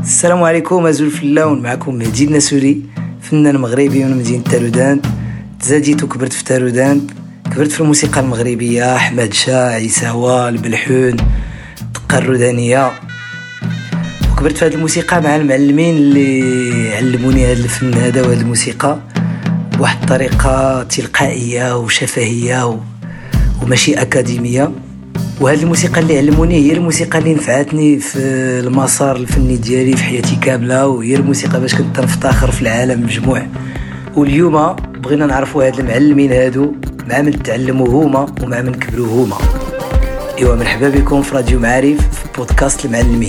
السلام عليكم أزول فلاون، معكم مهدي النسوري، فنان مغربي من مدينة تارودان. تزاديت وكبرت في تارودان، كبرت في الموسيقى المغربية، أحمد شاه، عيساوة، البلحون، الدقة الرودانية. وكبرت في هذه الموسيقى مع المعلمين اللي علموني هذا الفن هذا وهذه الموسيقى بواحد الطريقة تلقائية وشفهية وماشي أكاديمية. وهذه الموسيقى اللي علموني هي الموسيقى اللي نفعتني في المسار الفني ديالي في حياتي كاملة، وهي الموسيقى باش كنت نفتخر في العالم مجموع. واليوم بغينا نعرفوا هاد المعلمين هادو مع من تعلموا هما ومع من كبروا هما. ايوا مرحبا بكم في راديو معارف في بودكاست المعلمين.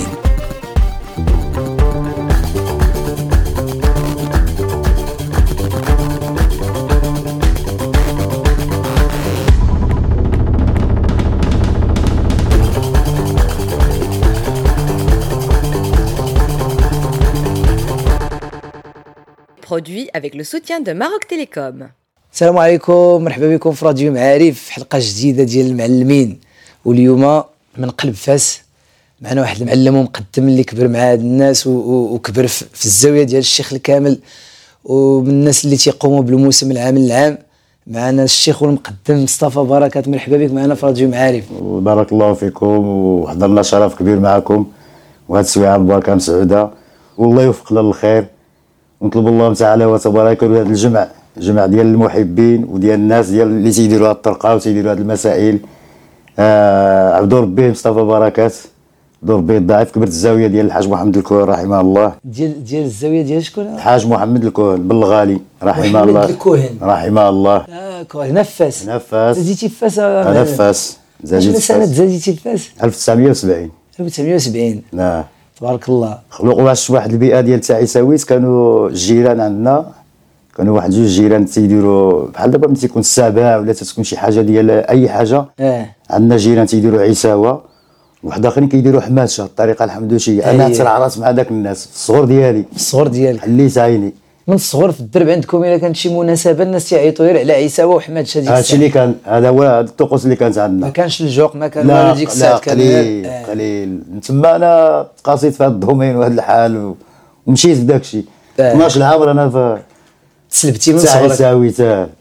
Produit avec le soutien de Maroc Télécom. السلام عليكم، مرحبا بكم في راديو معارف، حلقة جديدة ديال المعلمين. واليوم من قلب فاس معنا واحد المعلم ومقدم اللي كبر مع هاد الناس وكبر في الزاوية ديال الشيخ الكامل، ومن الناس اللي تيقوموا بالموسم العام العام. معنا الشيخ والمقدم مصطفى بركات، مرحبا بك معنا في راديو معارف. بارك الله فيكم، وحضرنا شرف كبير معكم، وهاد السويعة المباركة مسعودة، والله يوفقنا للخير. ونطلب الله تعالى وتبارك هذا الجمع ديال المحبين وديال الناس ديال اللي تيديروا هاد الطرقه وتيديروا هاد المسائل. عبدو ربي مصطفى بركات، عبدو ربي الضعيف، كبرت الزاويه ديال الحاج محمد الكوهن رحمه الله. ديال الزاويه ديال شكون؟ الحاج محمد الكوهن بالغالي رحمه الله. محمد الكوهن رحمه الله. نفاس زاديتي في فاس. نفاس زاديتي في سنه زاديتي في فاس 1970. 1970. نعم تبارك الله. خلقوا واحد البيئه ديال تعيساويت، كانوا الجيران عندنا، كانوا واحد جوج جيران تيديروا بحال دابا ملي تيكون السابع ولا تتكون شي حاجه ديال اي حاجه. عندنا جيران تيديروا عيساوه، واحد اخرين كيديروا حماشه الطريقه الحمدوشيه. انا ترعرات مع داك الناس الصغر ديالي حليت عيني من الصغر. في الدرب عندكم الا كانت شي مناسبه الناس تيعيطوا غير على عيساوه وحماشه. هادشي اللي كان، هذا هو الطقوس اللي كانت عندنا. ما كانش الجوق، ما كان والو ديك الساعه، كان قليل. تما انا تقاصيت في هذا الدومين وهذا الحال ومشيت بداك الشيء. 12 عام انا في تسلبتي من صغرك. ساويت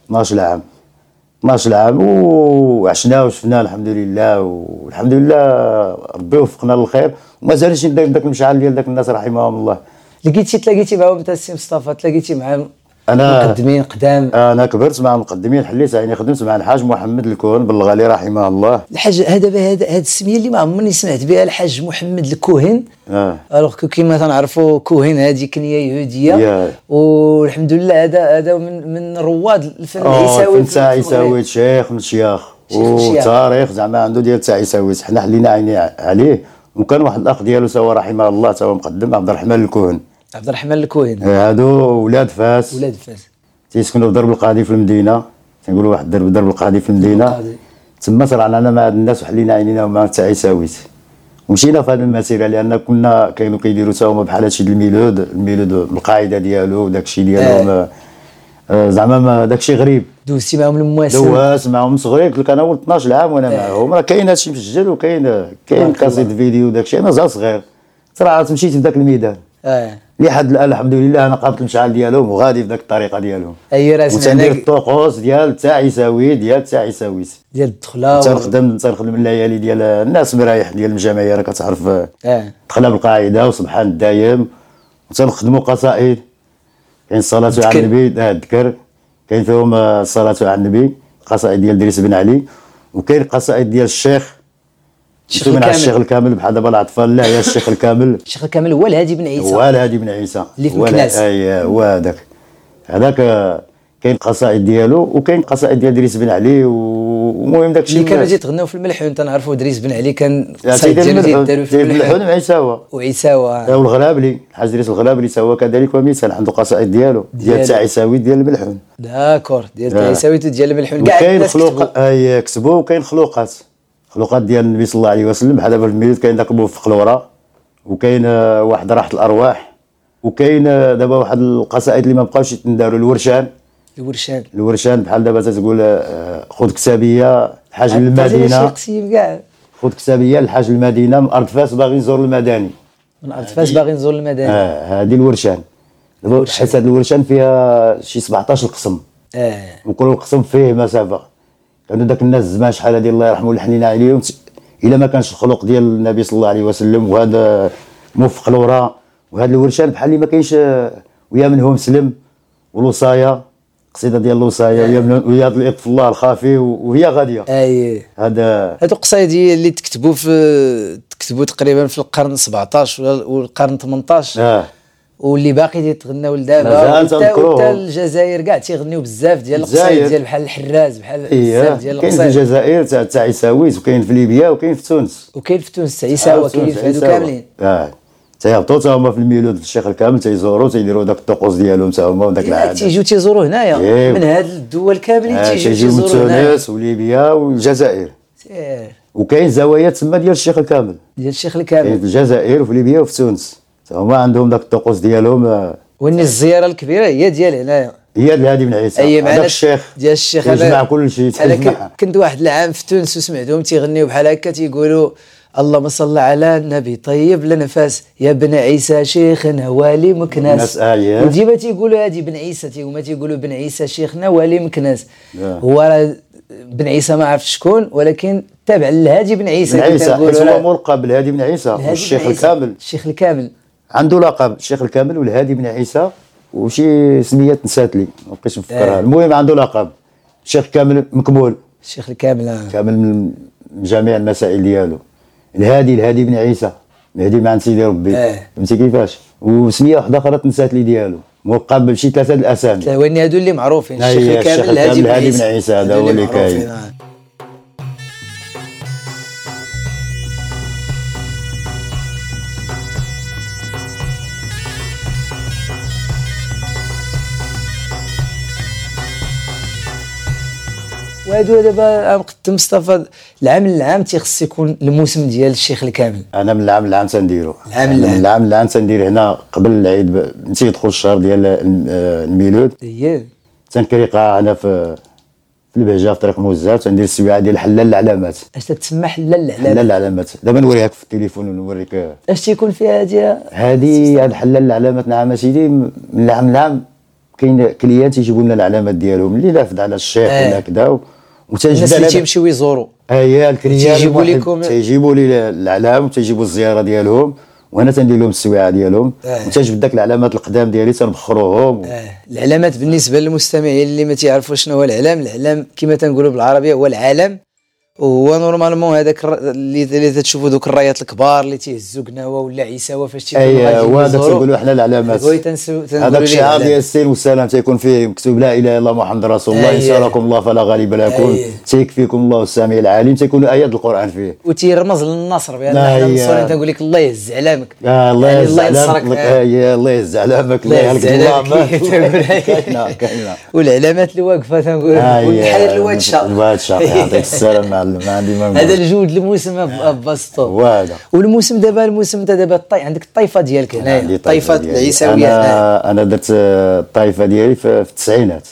12 عام وعشنا وشفنا الحمد لله، والحمد لله ربي وفقنا للخير، وما زالش داك المشعل ديال داك الناس رحمهم الله. تلاقيتي معاهم انت السي مصطفى؟ تلاقيتي مع انا مقدمين قدام؟ انا كبرت مع المقدمين، حليت عيني، خدمت مع الحاج محمد الكوهن بالغالي رحمه الله. الحاج هذا السميه اللي ما عمرني سمعت بها، الحاج محمد الكوهن. الوغ كيما تنعرفوا كوهن هذه كنيه يهوديه. والحمد لله هذا من رواد الفن العيساوي. الفن تاع عيساويت شيخ من الشياخ، وتاريخ زعما عنده ديال تاع عيساويت، حنا حلينا عيني عليه. وكان واحد الاخ ديالو سوا رحمه الله تا هو مقدم، عبد الرحمن الكوهن. هادو ولاد فاس تيسكنوا في درب القاضي في المدينه، تنقولوا واحد درب القاضي في المدينه. تما صرعنا انا مع هاد الناس وحلينا عينينا مع تاع عيساويت، ومشينا في هذه المسيره، لان كنا كانوا كيديروا تا هما بحال هادشي الميلود بالقاعده ديالو وداكشي ديالهم. زعما داكشي غريب. دوزتي معاهم المواسم؟ دوزت معاهم صغير، قلت لك انا ولد 12 عام وانا معاهم. راه كاين هادشي مسجل، وكاين كاسيت فيديو وداكشي. انا زال صغير صراحه مشيت في ذاك الميدان. لحد الان الحمد لله انا قابلت المشعل ديالهم وغادي في ذاك الطريقه ديالهم. اي راه سمعنا. وتندير الطقوس ديال تاع عيساويت ديال الدخله. تنخدم الليالي ديال الناس مرايح ديال الجمعيه، راك تعرف. دخلنا بالقاعده وسبحان الدايم، وتنخدموا قصائد. كاين الصلاه على النبي، الذكر كاين فيهم الصلاه على النبي، قصائد ديال دريس بن علي، وكاين قصائد ديال الشيخ الكامل بحال دابا الاطفال. لا، يا الشيخ الكامل. الشيخ الكامل هو الهادي بن عيسى اللي في مكناس. هو هذاك كاين قصائد ديالو، وكاين قصائد ديال دريس بن علي. ومهم داك الشيء اللي كانوا تيتغناو في الملحون. تنعرفوا دريس بن علي كان قصائد ديالو في الملحون وعيساوه. والغلابلي، الحاج دريس الغلابلي هو كذلك ومثال، عنده قصائد ديالو ديال تاع عيساوي ديال الملحون. داكور، ديال تاع عيساوي ديال الملحون. كاين خلوق كتبوا، وكاين خلوقات ديال النبي صلى الله عليه وسلم. بحال دابا في الميلاد كاين داك الموفق الورا، وكاين واحد راحه الارواح، وكاين دابا واحد القصائد اللي ما بقاوش يتنداروا. الورشان بحال دابا تتقول خذ كتابيه الحاج المدينه، خذ كتابيه الحاج المدينه من ارض فاس باغي نزور المداني. من ارض فاس باغي نزور المدينه. هذه الورشان. حيت هذه الورشان فيها شي 17 قسم. وكل قسم فيه مسافه. كانوا داك الناس زمان شحال هذه الله يرحمه لحنينا عليهم الا ما كانش الخلق ديال النبي صلى الله عليه وسلم وهذا موفق الوراء. وهذا الورشان بحال اللي ما كاينش ويا من هو مسلم والوصايه قصيده ديال الوصايه ويا الاطف الله الخافي وهي غاديه. هادو قصايدي اللي تكتبوا تقريبا في القرن 17 والقرن 18 واللي باقي تيتغناو لدابا حتى الجزائر كاع تيغنيو بزاف ديال القصايد ديال بحال الحراز بحال بزاف ديال القصايد. كاين في الجزائر تاع عيساويس وكاين في ليبيا وكاين في تونس تاع عيساوي كاين في هادو كاملين. تيهبطوا تا هما في الميلود في الشيخ الكامل تيزوروا تيديروا داك الطقوس ديالهم تا هما وداك العادات. تيجيو تيزوروا هنايا من هاد الدول كاملين تيجيو من تونس وليبيا والجزائر. وكاين زوايا تما ديال الشيخ الكامل كاين في الجزائر وفي ليبيا وفي تونس هما عندهم داك الطقوس ديالهم. واني الزياره الكبيره هي ديال هنايا هي الهادي بن عيسى هذاك الشيخ ديال الشيخ يجمع كل شيء. انا كنت واحد العام في تونس وسمعتهم تيغنيو بحال هكا تيقولوا اللهم صل على النبي طيب لنفاس يا بن عيسى شيخنا والي مكناس. وديما تيقولوا هادي بن عيسى هما تيقولوا بن عيسى شيخنا والي مكناس. هو بن عيسى ما عرفت شكون ولكن تابع للهادي بن عيسى. هو ملقب بالهادي بن عيسى والشيخ الكامل. الشيخ الكامل عنده لقب الشيخ الكامل والهادي بن عيسى وشي سميات نسات لي ما بقيتش نفكرها. المهم عنده لقب الشيخ كامل مكمول. الشيخ الكامل كامل من جميع المسائل ديالو. الهادي بن عيسى الهادي مع سيدي ربي. فهمتي كيفاش. وسميه واحده اخرى تنسات لي ديالو ملقب بشي 3 الاسامي. وين هادو اللي معروفين الشيخ الكامل الهادي بن عيسى هذا هو اللي كاين. وهادو دابا مقدم مصطفى العام تيخص يكون الموسم ديال الشيخ الكامل. انا من العام تنديرو العام تندير هنا قبل العيد نسيت يدخل الشهر ديال الميلود. تنكري قاعه هنا في البهجه في طريق موزات تندير السويعه ديال حلال العلامات. اش تتسمى حلال العلامات دابا نوريها في التليفون ونوريك اش تيكون فيها هذه حلال العلامات. نعم سيدي من العام كاين كليان يجيبوا لنا العلامات ديالهم اللي لافد على الشيخ ولا كذا الناس اللي تيمشيو يزوروا الكليان تيجيبوا لي العلام وتيجيبوا الزياره ديالهم وانا تندير لهم السويعه ديالهم وتنجبد داك العلامات القدام ديالي تنبخروهم. العلامات بالنسبه للمستمعين اللي ما تعرفوش شنو هو العلام كما تنقولوا بالعربيه هو العلم. وهو نورمالمون هذاك اللي تشوفوا دوك الرايات الكبار اللي تيهزوا قناوه ولا عيساوه فاش تيكونوا هذاك تنقولوا حنا العلامات. هذاك الشعار ديال السين والسلام تيكون فيه مكتوب لا اله الا الله محمد رسول الله ان شاركم الله فلا غالب لكم تيكفيكم الله السميع العليم تيكونوا ايات القران فيه وتيرمز للنصر بان حنا النصرين تنقول لك الله يهز علامك. الله يهز علامك الله يهز علامك الله يهلك الله كاينه والعلامات اللي واقفه تنقول بحال الواد يعطيك السلامه ما عندي ما هذا الجود الموسم بسطو. والموسم دابا عندك الطائفه ديالك هنايا الطائفه العيساويه. انا درت الطائفه ديالي في التسعينات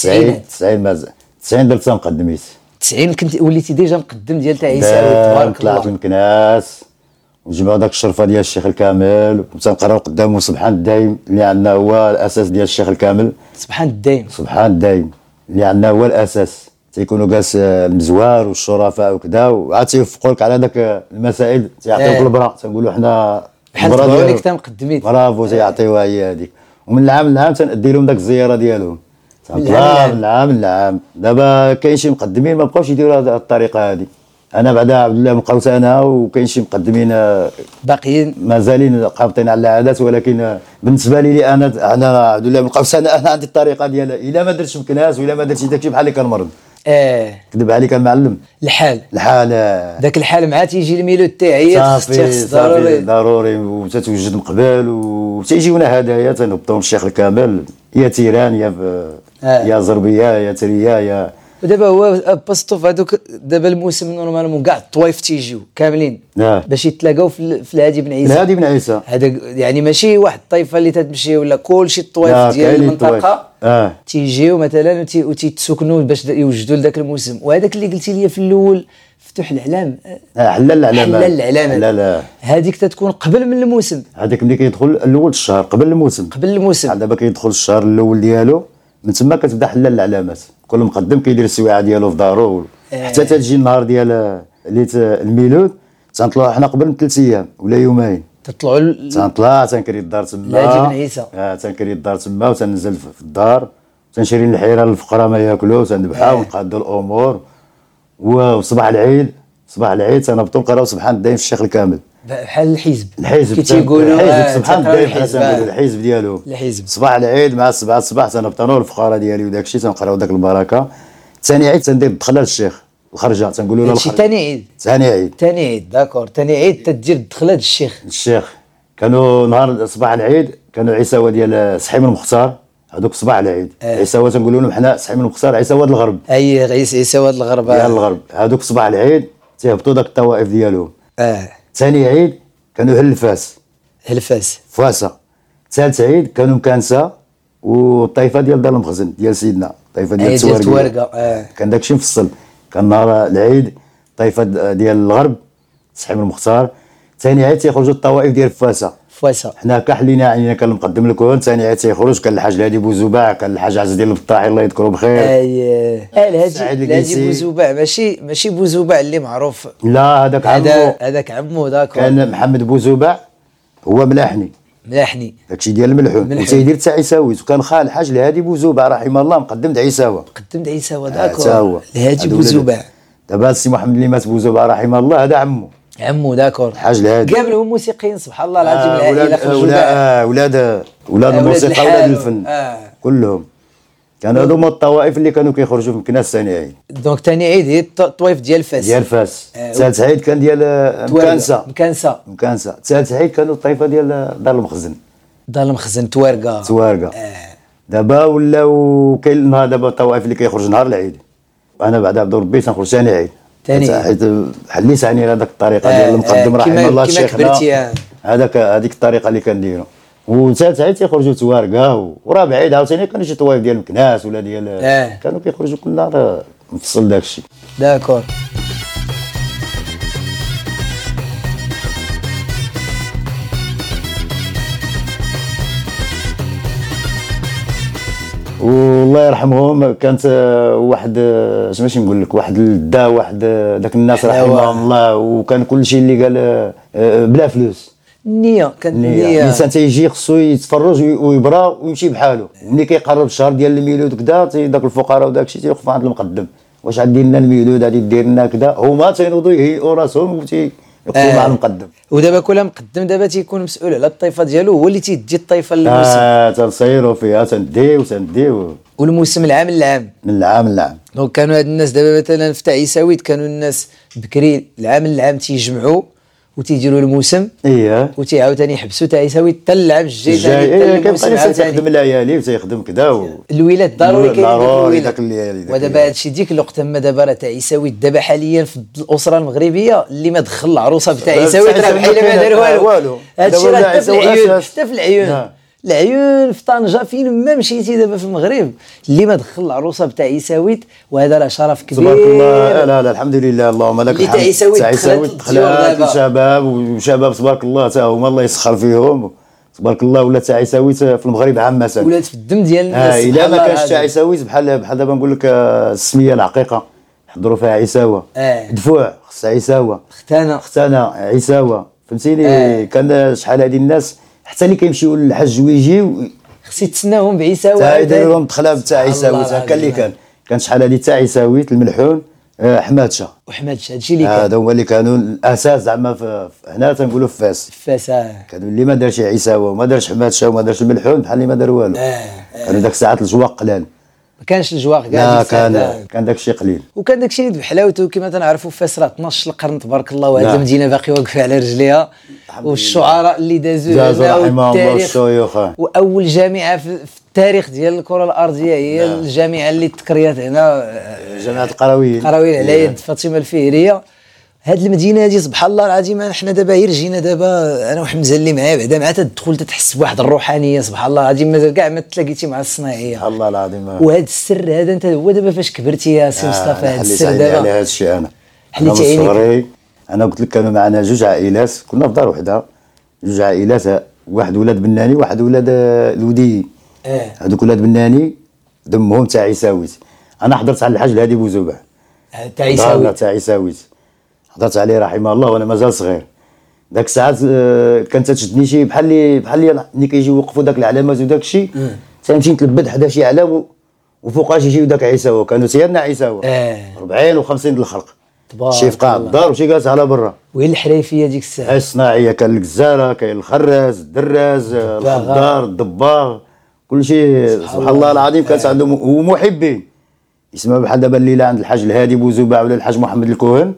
90 درت مقدميت 90 كنت وليتي ديجا مقدم ديال تاع عيساوي تبارك الله. طلعت من كناس وجمعوا داك الشرفه ديال الشيخ الكامل وتنقراو قدامه سبحان الدايم اللي عندنا هو الاساس ديال الشيخ الكامل. سبحان الدايم اللي عندنا هو الاساس تيكونوا جالس المزوار والشرفاء وكذا وعاد تيوفقوا لك على داك المسائل تيعطيوك البرا تنقولوا حنا البرا ديك مقدمين برافو تيعطيوها هي هذيك. ومن العام تندي لهم داك الزياره ديالهم من العام دابا كاين شي مقدمين ما بقاوش يديروا هذه الطريقه هذه. انا بعدا عبد الله بقاوت انا وكاين شي مقدمين باقيين مازالين قابطين على العادات ولكن بالنسبه لي انا عبد الله بقاوت انا عندي الطريقه ديالها الا ما درتش مكناس ولا ما درتش داكشي بحال اللي كنمرض. كذب عليك المعلم. الحال داك الحال مع تيجي الميلود تاعي خص ضروري وتتوجد مقبل وتيجيونا هدايا تنهبطوا الشيخ الكامل يا تيران يا زربيه يا تريا يا. ودابا هو باسطو في هذوك دابا الموسم نورمالمون كاع الطوايف تيجيو كاملين باش يتلاقاو في الهادي بن عيسى. هذا يعني ماشي واحد الطائفه اللي تتمشي ولا كلشي الطوايف ديال المنطقه تيجيو مثلا وتيتسكنوا باش يوجدوا لذاك الموسم. وهذاك اللي قلتي لي في الاول في مفتوح الاعلام. حلال الاعلام. حلال الاعلام. لا هذيك تتكون قبل من الموسم. هذاك ملي كيدخل الاول الشهر قبل الموسم. قبل الموسم. دابا كيدخل الشهر الاول ديالو، من تما كتبدا حلال الاعلامات. كل مقدم كيدير السويعه ديالو في دارو حتى تجي النهار ديال ليت الميلود. تنطلعوا حنا قبل من 3 ايام ولا يومين. تطلعوا تنطلع تنكري الدار تما. لاجي بن عيسى. تنكري الدار تما وتنزل في الدار، تنشري الحيره للفقراء ما ياكلوا، تنذبحها ونقادوا الامور. وصباح العيد تنهبطوا نقراو سبحان الدايم في الشيخ الكامل بحال الحزب كي تيقولوا. الحزب سبحان الدايم بحال تنقولوا الحزب ديالو. صباح العيد مع 7 الصباح تنهبطوا الفقراء ديالي وداك الشيء، تنقراو داك البركه. ثاني عيد تندير الدخله للشيخ الخرجه، تنقولوا له الخرجه. ثاني عيد داكور. ثاني عيد تدير الدخله للشيخ. كانوا نهار صباح العيد كانوا عيساوه ديال سحيم المختار، هذوك صباح العيد. عيساوه تنقولوا لهم حنا سحيم المختار عيساوه الغرب. عيساوه الغرب ديال الغرب. هذوك صباح العيد تيهبطوا داك الطوائف ديالهم. ثاني عيد كانوا هلفاس فاسه. ثالث عيد كانوا مكانسه والطائفه ديال دار المخزن ديال سيدنا، الطائفه ديال توارقه. كان داكشي مفصل. كان نهار العيد طائفه ديال الغرب سحيم المختار. ثاني عيد تيخرجوا الطوائف ديال فاسه. حنا كحلينا عينينا. كان المقدم الكون. ثاني عيد تيخرج كان الحاج الهادي بوزباع، كان الحاج عز الدين البطاحي الله يذكره بخير. الهادي بوزباع ماشي بوزباع اللي معروف. لا هذاك عمو داكور. كان محمد بوزباع هو ملاحني داكشي ديال الملحون وتيدير حتى عيساويت. وكان خال الحاج الهادي بوزباع رحمه الله مقدم د عيساوه داكور. الهادي بوزباع. دابا السي محمد اللي مات بوزبع رحمه الله هذا عمو داكور. الحاج الهادي قابلهم موسيقيين سبحان الله العظيم. العائله ولاد الموسيقى ولاد الفن كلهم كانوا هذو هما الطوائف اللي كانوا كيخرجوا في مكناس ثاني عيد. دونك ثاني عيد هي الطوائف ديال فاس. ثالث عيد كان ديال مكانسه. ثالث عيد كانوا الطائفه ديال دار المخزن توارقه. دابا ولاو كاين النهار دابا الطوائف اللي كيخرج نهار العيد. انا بعد عبد ربي تنخرج ثاني عيد حيت حليت عني هذاك الطريقه ديال المقدم رحمه الله شيخنا. هذيك الطريقه اللي كنديروا. وثالث عيد تيخرجوا توارقه. ورابع عيد عاوتاني كانوا شي طوائف ديال مكناس ولا ديال كانوا كيخرجوا كل نهار مفصل داك الشيء. داكور. والله يرحمهم كانت واحد اش ماشي نقول لك واحد الدا واحد داك الناس رحمهم الله. وكان كل شيء اللي قال بلا فلوس. النيه كانت النيه. الانسان تيجي خصو يتفرج ويبرا ويمشي بحاله. ملي كيقرب الشهر ديال الميلود كذا داك الفقراء وداك الشيء تيوقفوا عند المقدم واش غادي لنا الميلود غادي دير لنا كذا. هما تينوضوا يهيئوا راسهم ويوقفوا مع المقدم. ودابا كل مقدم دابا تيكون مسؤول على الطائفه ديالو هو اللي تيدي الطائفه للموسم. تنصيروا فيها تنديو والموسم من العام. دونك كانوا هاد الناس دابا مثلا في عيساويت كانوا الناس بكري العام تيجمعوا وتيديروا الموسم. وتيعاوتاني يحبسوا تاع عيساويت حتى العام الجاي كيبقى تيخدم الليالي وتيخدم كذا. الولاد ضروري كاين داك الليالي. ودابا هادشي ديك الوقت اما دابا راه تاع عيساويت دابا حاليا في الاسره المغربيه اللي ما دخل العروسه تاع عيساويت راه بحال ما دار والو. هادشي راه حتى في العيون في طنجه فين ما مشيتي دابا في المغرب اللي ما دخل العروسه تاع عيساويت وهذا راه شرف كبير. تبارك الله. لا الحمد لله اللهم لك الحمد. عيساويت دخلت الشباب وشباب تبارك الله حتى هما الله يسخر فيهم تبارك الله. ولا تاع عيساويت في المغرب عامه ولات في الدم ديال الناس. الا ما كانش تاع عيساويت بحال دابا نقول لك السميه العقيقه يحضروا فيها عيساوه. دفوع خصها عيساوه. ختانه عيساوه فهمتيني. كان شحال هذه الناس حتى اللي كيمشيو للحج ويجيو خص يتسناهم بعيساوه. يديروا لهم دخله تاع عيساويت هكا اللي كان شحال هذه تاع عيساويت الملحون حمادشه هادشي اللي كان. هذا هو اللي كانوا الاساس زعما هنا تنقولوا في فاس. كانوا اللي ما دارش عيساوه وما دارش حمادشه وما دارش الملحون بحال اللي ما دار والو. كانوا داك الساعات الجواق قلال. ما كانش الجواق كاع كان داك الشيء قليل. وكان داك الشيء بحلاوته كما تنعرفوا فاس راه 12 القرن تبارك الله. وهذه المدينه باقي واقفه على رجليها. والشعراء اللي دازوا رحمهم الله الشيوخ. واول جامعه في التاريخ ديال الكره الارضيه هي الجامعه اللي تكريات هنا جامعه القرويين على يد فاطمه الفهريه. هاد المدينه هذه سبحان الله العظيم حنا دابا غير جينا دابا انا وحمزه اللي معايا بعدا مع تدخل تتحس بواحد الروحانيه سبحان الله العظيم مازال كاع ما تلاقيتي مع الصناعيه. الله العظيم. وهذا السر هذا انت هو دابا فاش كبرتي يا سي مصطفى هذا السر دابا على هذا الشيء انا حليتي عينيك. صغري انا قلت لك كانوا معنا جوج عائلات، كنا في دار وحده، جوج عائلات، واحد ولاد بناني واحد ولاد الودي. هذوك ولاد بناني دمهم تاع عيساويت. انا حضرت على الحاج الهادي بوزوبع تاع عيساويت. تاع عيساويت حضرت عليه رحمه الله وانا مازال صغير. داك الساعات كانت تشدني شي بحال ملي كيجيو يوقفوا داك العلامات وداك الشيء، تنمشي نتلبد حدا شي علام وفوقاش يجيو داك عيساوه، كانوا سيادنا عيساوه 40 و50 د الخلق، شي في قاع الدار وشي جالس على برا. وين الحريفيه ديك الساعه؟ الصناعيه كان الجزاره، كاين الخراز، الدراز، الخضار، الدباغ، كل شيء سبحان الله العظيم. كانت عندهم ومحبين يسمعوا بحال دابا الليله عند الحاج الهادي بوزوبع ولا الحاج محمد الكوهن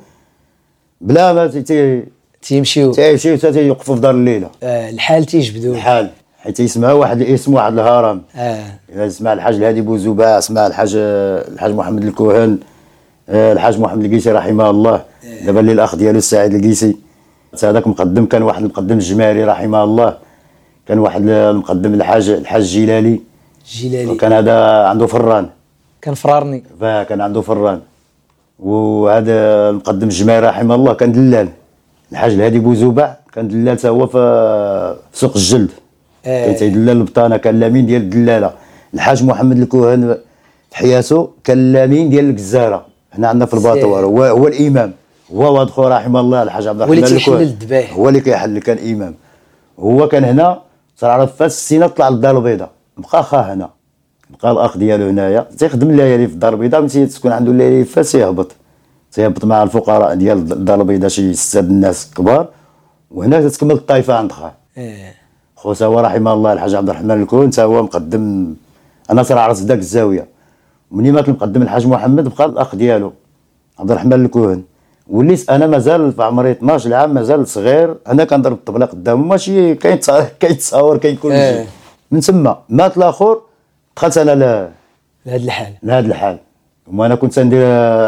بلا ما تيمشيو تيوقفوا في دار الليله. الحال تيجبدوا الحال حيت يسمعوا واحد الاسم واحد الهرم. اذا سمع الحاج الهادي بوزوبع، سمع الحاج محمد الكوهن، الحاج محمد القيسي رحمه الله، دابا اللي الاخ ديالو السعيد القيسي. هذاك مقدم كان واحد المقدم الجماري رحمه الله، كان واحد المقدم الحاج جيلالي، وكان هذا عنده فران، كان فرارني، كان عنده فران. وهذا المقدم الجماري رحمه الله كان دلال. الحاج الهادي بوزوبع كان دلال حتى هو في سوق الجلد، كان تيدلل البطانه، كان لامين ديال الدلاله. الحاج محمد الكوهن في حياته كان لامين ديال الجزاره، هنا عندنا في الباطوار، هو الامام، هو واد خو رحمه الله الحاج عبد الرحمن الكوهن، هو اللي كيحل، كان امام. هو كان هنا صار على فاس السنه طلع للدار البيضاء، بقى خا هنا، بقى الاخ ديالو هنايا تيخدم الليالي في الدار البيضاء. ملي تكون عنده الليالي فاس تيهبط مع الفقراء ديال الدار البيضاء، شي 6 الناس كبار، وهنا تتكمل الطائفه عند خا. خوتا هو رحمه الله الحاج عبد الرحمن الكوهن تا هو مقدم. انا صراحه عرفت ذاك الزاويه، ومني مات المقدم الحاج محمد بقى الاخ ديالو عبد الرحمن الكوهن. وليت انا مازال في عمري 12 عام، مازال صغير، انا كنضرب الطبله قدامه، ماشي كاين تصاور كاين كل شيء. من تما مات الاخر، دخلت انا لهذا الحال. وانا كنت ندير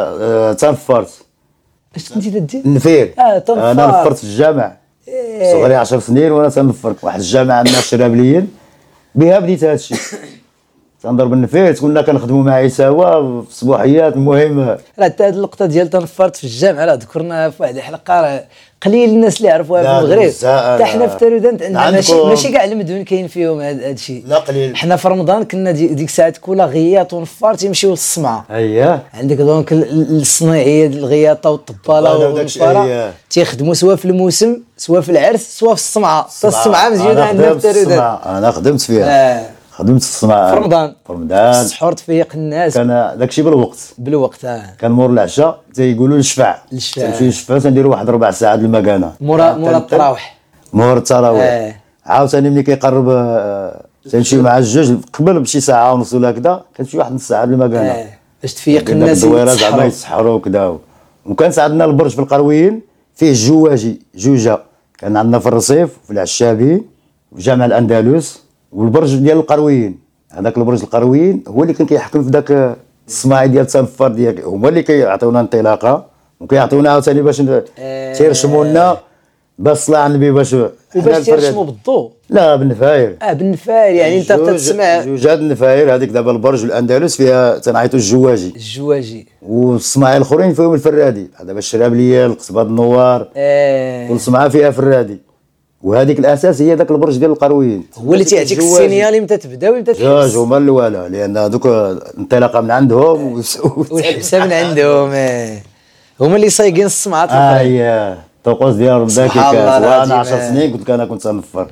تنفرت. اش كنتي تدير؟ نفير. انا نفرت في الجامع، صغري 10 سنين وانا تنفر واحد الجامعه عندنا في الشرابليين، بها بديت هذا الشيء، تنضرب النفير. كنا كنخدموا مع عيساوه في الصباحيات. المهم راه حتى هذه اللقطه ديال تنفرت في الجامعه راه ذكرناها في واحد الحلقه، راه قليل الناس اللي يعرفوها في المغرب. حتى حنا في تارودانت عندنا ماشي كاع المدن كاين فيهم هذا الشيء، لا قليل. حنا في رمضان كنا ديك الساعات كل غياط ونفار تيمشيو للصمعه. عندك دونك الصناعيه ديال الغياطه والطباله والنفاره تيخدموا سواء في الموسم سواء في العرس سواء في الصمعه. الصمعه مزيانه عندنا في تارودانت، انا خدمت فيها. خدمت في الصمعه في رمضان السحور تفيق الناس، كان داكشي بالوقت. كان مور العشاء تيقولوا الشفع، تمشي للشفع تنديروا واحد 4 ساعات المكانه مورا التراويح. مور التراويح عاوتاني ملي كيقرب تنمشيو مع الجوج قبل بشي ساعه ونص ولا كذا، كتمشي واحد نص ساعه المكانه باش تفيق الناس زعما يتسحروا وكذا. وكان عندنا البرج في القرويين فيه جوجه، كان عندنا في الرصيف في العشابي في جامع الاندلس، والبرج ديال القرويين. هذاك البرج القرويين هو اللي كان كيحكم في ذاك الصناعي ديال تنفر ديال، هما اللي كيعطيونا انطلاقه وكيعطيونا عاوتاني باش تيرشموا لنا باش طلع النبي باش تيرشموا بالضوء. لا بالنفاير. بالنفاير يعني انت تسمع جوج هاد النفاير. هذيك دابا البرج الاندلس فيها تنعيطوا الجواجي، والصناعي الاخرين فيهم الفرادي. دابا الشرابليه، القصبه النوار، كل صنعه فيها فرادي. وهذيك الاساس هي ذاك البرج ديال القرويين، هو اللي تيعطيك السينيال امتى تبدا وامتى تحس. جوج هما الاولى، لان هذوك الانطلاقه من عندهم والحساب من عندهم. هما اللي صايقين الصمعات الاخرين. الطقوس ديال ربك كاس. وانا 10 سنين قلت لك انا كنت تنفر.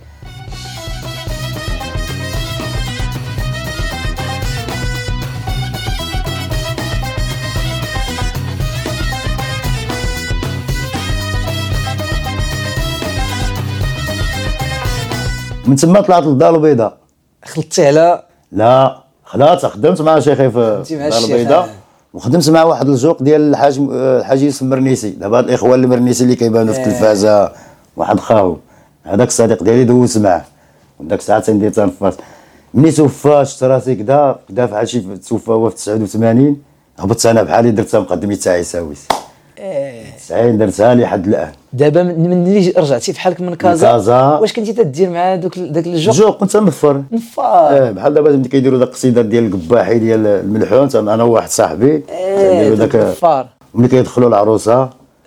من تما طلعت للدار البيضاء. خلطتي على؟ لا خدمت مع شيخي في الدار البيضاء، وخدمت مع واحد الجوق ديال الحاج يوسف المرنيسي. دابا الاخوان المرنيسي اللي كيبانوا في التلفازه، واحد خاو هذاك الصديق ديالي دوزت معاه، وداك الساعه تندير تنفاس. ملي توفى شفت راسي كدا بحال شي توفى هو في 89. هبطت انا بحالي درتها مقدمي تاع عيساويس. 90 درتها لحد الان. دابا ملي رجعتي بحالك من كازا واش كنتي تدير مع داك الجوق؟ كنت نفر بحال دابا ملي كيديروا داك القصيده ديال القباحي ديال الملحون، انا وواحد صاحبي كنديروا داك الفار. ملي كيدخلوا العروسه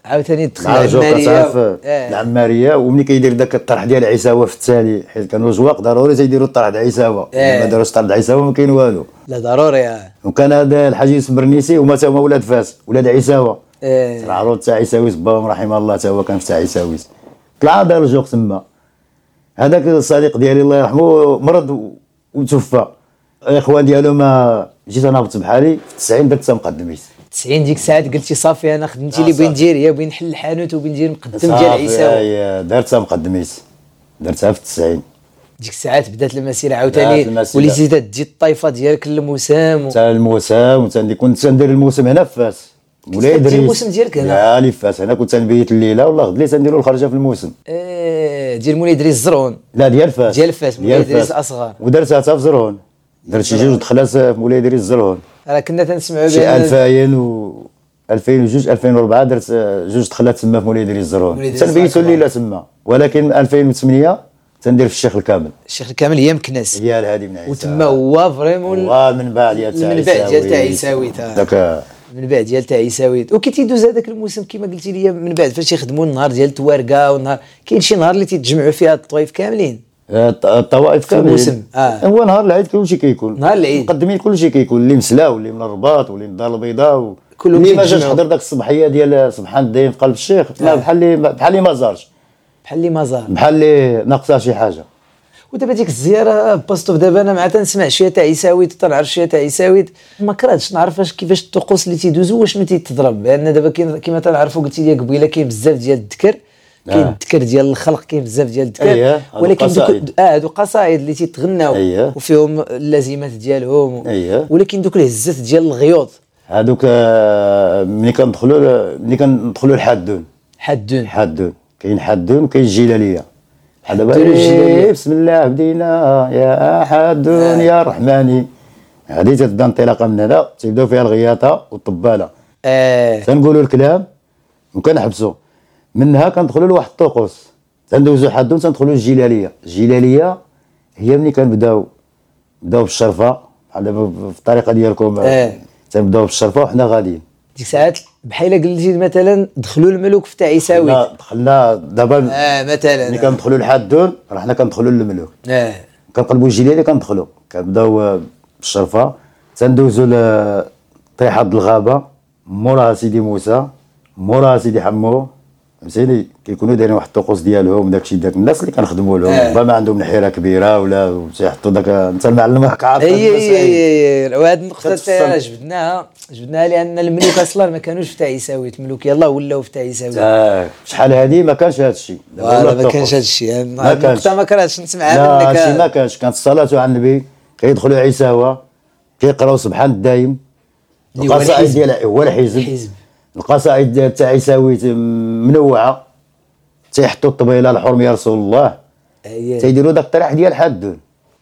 عاوتاني دخل العماريه العماريه. وملي كيدير داك الطرح ديال عيساوه في التالي، حيت كانوا الجواق ضروري تيديروا الطرح ديال عيساوه، ما داروش الطرح ديال عيساوه ما كاين والو. لا ضروري. وكان هذا الحاج يوسف برنيسي هما تا هما ولاد فاس، ولاد عيساوه. العروض تاع عيساويس باهم رحمه الله تا هو كان في تاع عيساويس. طلع دار الجوق تما. هذاك الصديق ديالي الله يرحمه مرض وتوفى. الاخوان ديالو ما جيت انا هبط بحالي في 90 درت مقدميس. 90 ديك الساعات قلتي صافي انا خدمتي اللي بين ندير هي بين نحل الحانوت وبين ندير مقدم ديال عيساوي. درتها مقدميس، درتها في 90. ديك الساعات بدات المسيره عاوتاني، وليتي تدي الطايفه ديالك للموسم تاع الموسم. كنت ندير الموسم هنا في فاس. مولاي ادريس الموسم ديالك هنا؟ لا لي فاس. انا كنت نبيت الليله والله غد لي تنديروا الخرجه في الموسم. ديال مولاي ادريس الزرون؟ لا ديال فاس. ديال فاس مولاي ادريس الاصغر. ودرتها حتى في زرون، درت شي جوج دخلات في مولاي ادريس الزرون. راه كنا تنسمعوا شي 2000 و 2002 2004 درت جوج دخلات تما في مولاي ادريس الزرون، تنبيتوا الليله تما. ولكن 2008 تندير في الشيخ الكامل. الشيخ الكامل هي مكناس، هي الهادي من عيسى. وتما هو فريمون المنبع ديال تاع عيساوي. داك المنبع ديال تاع عيساوي. وكي تيدوز هذاك الموسم كما قلتي لي من بعد فاش يخدموا النهار ديال التوارقه، والنهار كاين شي نهار اللي تيتجمعوا فيها الطوائف كاملين. الطوائف كاملين الموسم. هو نهار العيد كلشي كيكون. نهار العيد مقدمين كلشي كيكون، اللي مسلا واللي من الرباط واللي من الدار البيضاء كلهم اللي ما جاش حضر داك الصباحيه ديال سبحان الدين في قلب الشيخ. بحال اللي ما زارش، بحال اللي ما زار، بحال اللي ناقصه شي حاجه. ودابا ديك الزياره باستوف دابا انا مع تنسمع شويه تاع عيساويت وتنعرف شويه تاع عيساويت، ما كرهتش نعرف كيفاش الطقوس اللي تيدوزوا واش ما تيتضرب. لان دابا كيما تنعرفوا قلتي لي قبيله كاين بزاف ديال الذكر، كاين الذكر ديال الخلق، كاين بزاف ديال الذكر. ولكن هادو قصائد اللي تيتغناو وفيهم اللازمات ديالهم. ولكن دوك الهزات ديال الغيوط هادوك ملي كندخلوا الحادون. كاين حادون وكاين الجلاليه. دابا بسم الله بدينا يا حادون يا رحماني. هذه تبدا انطلاقه من هنا، تبداو فيها الغياطه والطباله. تنقولوا الكلام وكنحبسوا منها، كندخلوا لواحد الطقوس، تندوزوا حادون تندخلوا الجلاليه. الجلاليه هي ملي كنبداو بالشرفه بحال دابا في الطريقه ديالكم. تنبداو بالشرفه وحنا غاديين. ديك ساعات بحال قلتي مثلا دخلوا الملوك في تاع عيساوي. دخلنا دابا مثلا ملي كندخلوا للحادون راه حنا كندخلوا للملوك. كنقلبوا الجلاليه كندخلوا، كنبداو بالشرفه، تندوزوا لطيحه الغابه، موراها سيدي موسى، موراها سيدي حمو. فهمتيني؟ كيكونوا دايرين واحد الطقوس ديالهم. داكشي داك الناس اللي كنخدموا لهم ما عندهم نحيره كبيره ولا تيحطوا داك. انت المعلم راك عارف. وهاد النقطه تاع جبدناها لان الملوك اصلا ما كانوش في تاع عيساوي. الملوك يلاه ولاو في تاع عيساوي. شحال هادي ما كانش هذا الشيء. ما كانش هذا الشيء. النقطه ما كرهتش نسمعها منك. لا ما كانش. كانت الصلاه على النبي، كيدخلوا عيساوه كيقراو سبحان الدايم. القصائد ديال هو الحزب. القصائد تاع عيساوي منوعه، تيحطوا الطبيله الحرم يا رسول الله. تيديروا داك الطريح ديال حادون.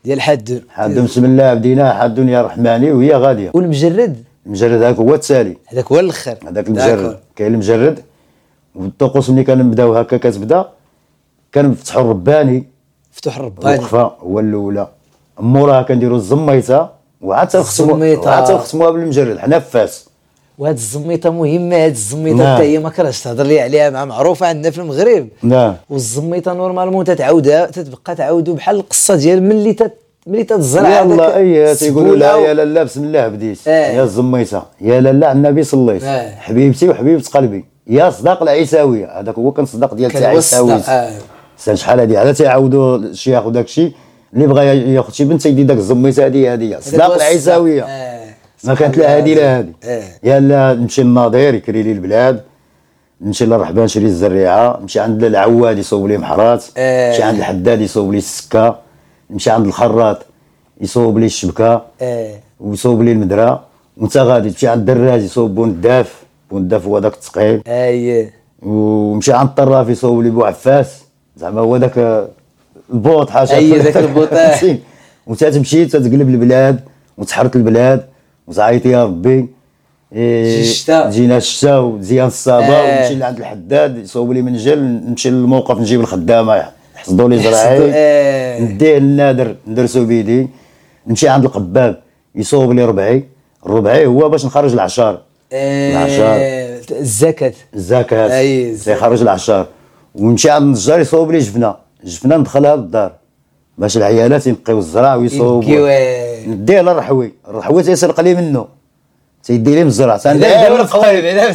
بسم الله بدينا حادون يا رحماني وهي غاديه. والمجرد هذاك هو التالي، هذاك هو الاخر. هذاك المجرد. كاين المجرد. والطقوس ملي كنبداو هكا كتبدا كنفتحوا الرباني. وقفه هو الاولى. موراها كنديروا الزميته وعاد تنختموها بالمجرد. حنا في فاس. وهاد الزميطه مهمه. هاد الزميطه حتى هي ما كرهتش تهضر لي عليها، معروفه عندنا في المغرب. والزميطه نورمالمون تتبقى تعاودوا بحال القصه ديال ملي تتزرع. يلاه تيقولوا لا يا لالا بسم الله بديت. يا الزميطه يا لالا على النبي صليت. حبيبتي وحبيبه قلبي يا صداق العيساويه. هذاك هو كان صداق ديال تاع عيساوي. شحال هذه عاد تيعاودوا الشيخ وداك الشيء اللي بغى ياخذ شي بنت يدي داك الزميطه هذه صداق العيساويه. ما كانت لا هادي لا هادي. يلا نمشي للناظر يكري لي البلاد، نمشي للرحبان نشري الزريعه، نمشي عند العواد يصوب لي محرات، نمشي عند الحداد يصوب لي السكه، نمشي عند الخراط يصوب لي الشبكه ويصوب لي المدرة. وانت غادي تمشي عند الدراج يصوب بونداف هو داك الثقيل. ومشي عند الطراف يصوب لي بوعفاس، زعما هو داك البوط حاجه. داك البوط. وانت تمشي تتقلب البلاد وتحرك البلاد وتعيطي يا ربي. جينا الشتا وزيان الصابه. ونمشي لعند الحداد يصوب لي منجل، نمشي للموقف نجيب الخدامه يحصدوا لي زرعي، نديه للنادر ندرسو بيدي. نمشي عند القباب يصوب لي ربعي. الربعي هو باش نخرج العشار. العشار الزكاة تيخرج العشار ويمشي عند النجار يصوب لي جفنه ندخلها للدار باش العيالات ينقيو الزرع ويصوبوا. نديه للرحوي تيسرق لي منه تيدي لي من الزرع تندير القويب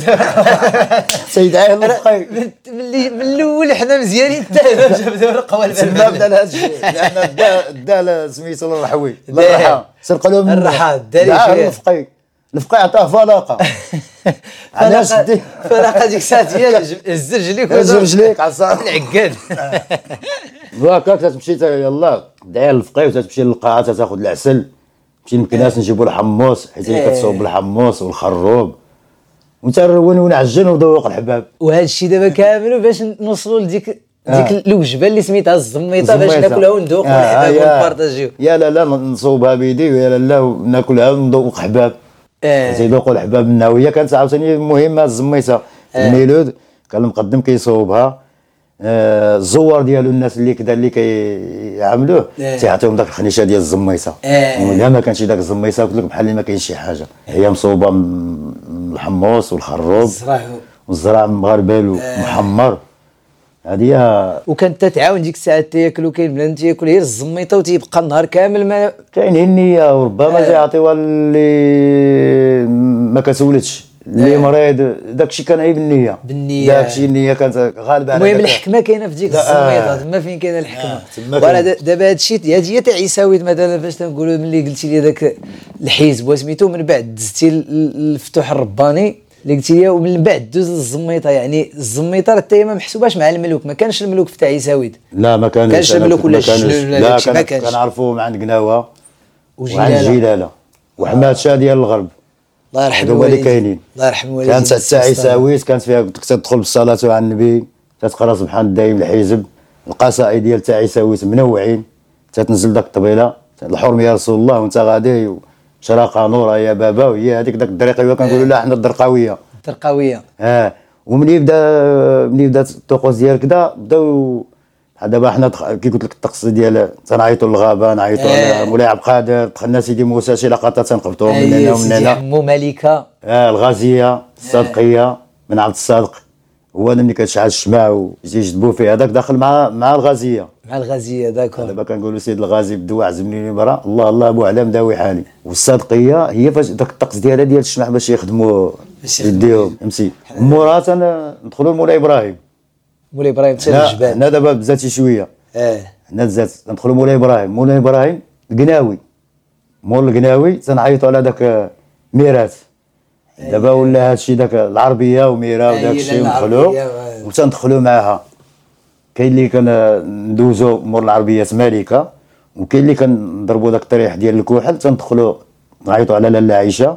تيدعيه للقويب من الاول حنا مزيانين حتى جبدوا القوالب تما بدا هذا الشيء لان دا سميتو للرحوي للرحا سرقوا له من الرحا داري الفقي عطاه فلاقه علاش دي فلاقه ديك الساعه هي رجليك عصا العقاد هكاك تمشي يلاه داير الفقي وتمشي للقاعه تاخذ العسل نمشي للكناس نجيبوا الحمص حيت هي كتصوب بالحمص والخروب ونترون ونعجن وذوق الحباب. وهذا الشيء دابا كامل باش نوصلوا لديك الوجبه اللي سميتها الزميطه باش ناكلها وندوقوا الحباب ونبارطاجيو. يا لا نصوبها بيدي ويا لا ناكلها وندوق حباب. تيذوقوا الحباب منها وهي كانت عاوتاني مهمه الزميطه. الميلود كان المقدم كيصوبها الزوار ديالو الناس اللي كذا اللي كيعاملوه تيعطيهم داك الخنيشه ديال الزميطه. ولا ما كانش داك الزميطه قلت لك بحال اللي ما كاينش شي حاجه هي مصوبه من الحمص والخروب والزرع مغربل ومحمر هذه. وكانت تتعاون ديك الساعات تاكلوا كاين بنادم تاكل غير الزميطه وتيبقى النهار كامل ما كاين النيه وربما تيعطيوها اللي ما كتولدش اللي مريض داكشي كان عيب النيه داكشي النيه كانت غالبه على المهم الحكمه كاينه في ديك الزميطه تما فين كاينه الحكمه. ولا دابا هادشي هي تاع عيساويت مثلا فاش تنقولوا ملي قلتي لي داك الحزب وسميتو من بعد دزتي الفتوح الرباني اللي قلتي لي ومن بعد دوز للزميطه يعني الزميطه حتى هي ما محسوباش مع الملوك ما كانش الملوك في تاع عيساويت لا ما كانش الملوك ولا لا كنعرفوهم عند قناوه وعند جلاله وحماد شاه ديال الغرب الله يرحم الوالدين الله يرحم الوالدين. كانت تاع عيساويت كانت فيها تدخل بالصلاه على النبي تتقرا سبحان الدايم الحزب القصائد ديال تاع عيساويت منوعين تتنزل داك الطبيله الحرم يا رسول الله وانت غادي شراقه نوره يا بابا وهي هذيك داك الدريقيه كنقولوا لها حنا الدرقاويه وملي بدا الطقوس ديال كذا بداو دابا حنا كي قلت لك الطقس ديال تنعيطوا للغابه نعيطوا على مولاي عبد القادر دخلنا سيدي موسى شي لقطات تنقبطوا من هنا ومن هنا مو ملكه الغازيه الصادقيه من عبد الصادق هو اللي كتشعل الشمع ويجدبوا فيه هذاك داخل مع الغازيه داكور. دابا كنقولوا سيد الغازي بالدواء عزمني برا الله ابو علام داوي حالي. والصادقيه هي فاش داك الطقس ديالها ديال الشمع باش يخدموا يديهم امسي مرات ندخلوا لمولاي ابراهيم تسال الجبال. هنا دابا بزاتي شويه هنا بزات ندخلوا مولاي ابراهيم القناوي مول القناوي تنعيطوا على داك ميراث دابا ولا هادشي داك العربيه وميرا وداك الشيء ندخلوا وتندخلوا معاها. كاين اللي كندوزو مور العربيه مالكه وكاين اللي كنضربوا داك الطريح ديال الكحل تندخلوا نعيطوا على لاله عائشه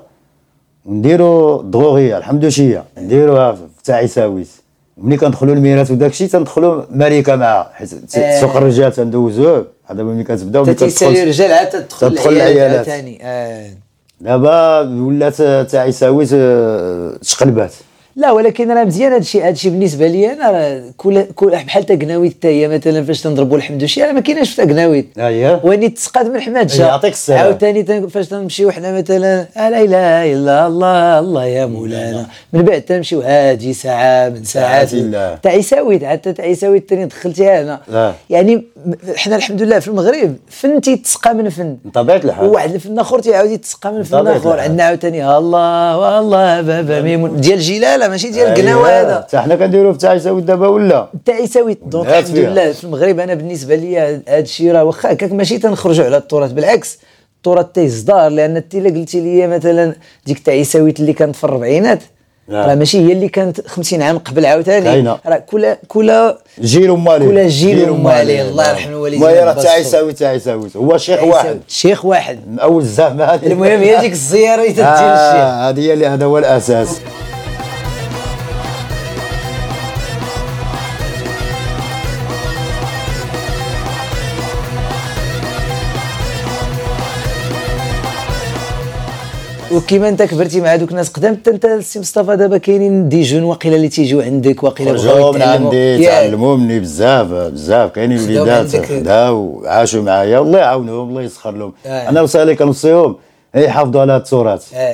ونديروا الضغوغيه الحمدوشيه نديروها تاع عيساويت. ملي كندخلوا الميراث وداك الشيء تندخلوا مالكه معها حيت سوق الرجال تندوزوه هذا ملي كتبداو تيسالي الرجال عاد تدخل العيالات ثاني. دابا ولات تاع عيساويت تقلبات. لا ولكن راه مزيان هادشي بالنسبه لي انا كل بحال تا قناويت حتى هي مثلا فاش تنضربوا الحمدوشي راه ما كايناش في قناويت واني تسقات من حماد شاه يعطيك الصحه. عاوتاني فاش تنمشيو حنا مثلا لا اله الا الله يا مولانا من بعد تنمشيو هادي ساعه من ساعات تاع عيساويت حتى تاع عيساويت ثاني دخلتيها هنا يعني حنا الحمد لله في المغرب فن تيتسقى من فن بطبيعه الحال وواحد الفن اخر تيعاود يتسقى من فن اخر. عندنا عاوتاني الله والله بابا ميمون ديال جلاله ماشي ديال القناوه هذا حتى حنا كنديروه في تاع عيساويت دابا ولا تاع عيساويت. دونك الحمد لله في المغرب انا بالنسبه لي هذا الشيء راه واخا هكاك ماشي تنخرجوا على التراث بالعكس التراث تيصدار لان انت الا قلتي لي مثلا ديك تاع عيساويت اللي كانت في الربعينات راه ماشي هي اللي كانت 50 عام قبل عاوتاني راه كل جيل ومالي الله يرحم الوالدين. راه تاع عيساويت هو شيخ واحد من اول الزعما هذه. المهم هي ديك الزياره اللي تدير الشيخ هذه اللي هذا هو الاساس. وكيما انت كبرتي مع دوك الناس قدام انت السي مصطفى دابا كاينين دي جون واقيلا اللي تيجيو عندك واقيلا بغاو من عندي تعلموا مني بزاف كاينين وليدات خداو عاشوا معايا الله يعاونهم الله يسخر لهم. انا رسالي كنوصيهم يحافظوا على التراث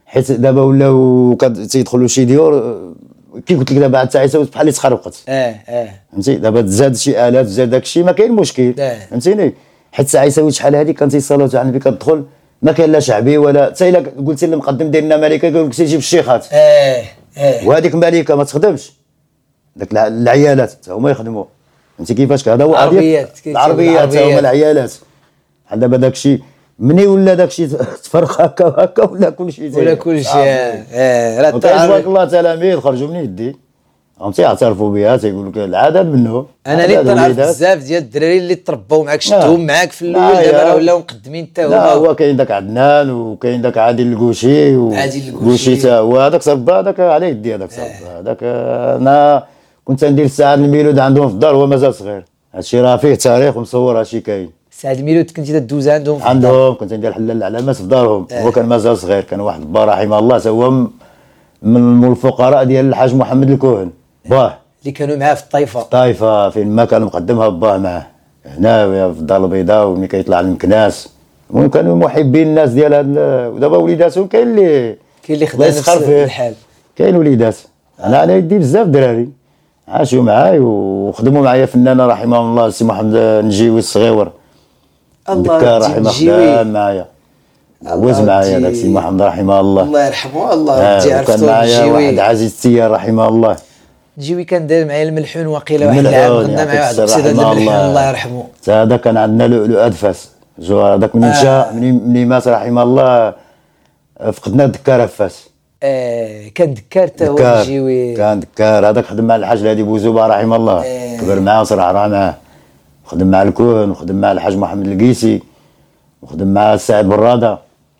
حيت دابا ولاو تيدخلوا شي ديور كي قلت لك دابا عاد عيساوي بحال اللي تخربقت. فهمتي دابا تزاد شي الات تزاد داكشي ما كاين مشكل. فهمتيني حيت عيساوي شحال هذه كان تيصلوا على النبي كتدخل ما كاين لا شعبي ولا حتى الا قلتي للمقدم ديالنا ملكه يقول لك سيجيب الشيخات. وهذيك ملكه ما تخدمش داك العيالات حتى هما يخدموا. فهمتي كيفاش هذا هو العربيات هما العيالات. بحال دابا داكشي مني ولا داكشي تفرق هكا ولا كلشي راه تبارك الله تلاميذ خرجوا من يدي هم تيعترفوا بها تيقول لك العدد منه. انا اللي تنعرف بزاف ديال الدراري اللي تربوا معاك شفتهم معاك في الاول دابا ولاو مقدمين حتى هما. لا هو كاين داك عدنان وكاين داك عادل الكوشي وكوشي حتى هو هذاك صب هذاك على يدي هذاك صب هذاك. انا كنت ندير السعد الميلود عندهم في الدار وهو مازال صغير. هادشي راه فيه تاريخ ومصور هادشي كاين. سعد الميلود كنتي تدوز عندهم كنت ندير حلال العلامات في دارهم. هو كان مازال صغير كان واحد با رحمه الله تا هو من الفقراء ديال الحاج محمد الكوهن باه اللي كانوا معاه في الطائفه. فين ما كان مقدمها باه معاه هنا في الدار البيضاء وملي كيطلع للمكناس. المهم كانوا محبين الناس ديال هذا. ودابا وليداتهم كاين اللي خدام نفس الحال. كاين وليدات انا على يدي بزاف دراري عاشوا معايا وخدموا معايا فنانه رحمه الله السي محمد النجيوي الصغيور. الله رحمه الله معايا وز معايا داك السي محمد رحمه الله يرحمه. الله كان معايا واحد عزيز التيار رحمه الله. نجيوي كان داير معايا الملحون واقيلا واحد العام خدنا معاه واحد السيد الملحون الله يرحمه. هذا كان عندنا لؤلؤ ادفاس هذاك من مشى مني مات رحمه الله فقدنا الدكار فاس. كان دكار حتى هو نجيوي كان دكار. هذاك خدم مع الحاج الهادي بوزوبه رحمه الله. كبر معاه وصرع معاه وخدم مع الكون وخدم مع الحاج محمد القيسي وخدم مع السعيد براده.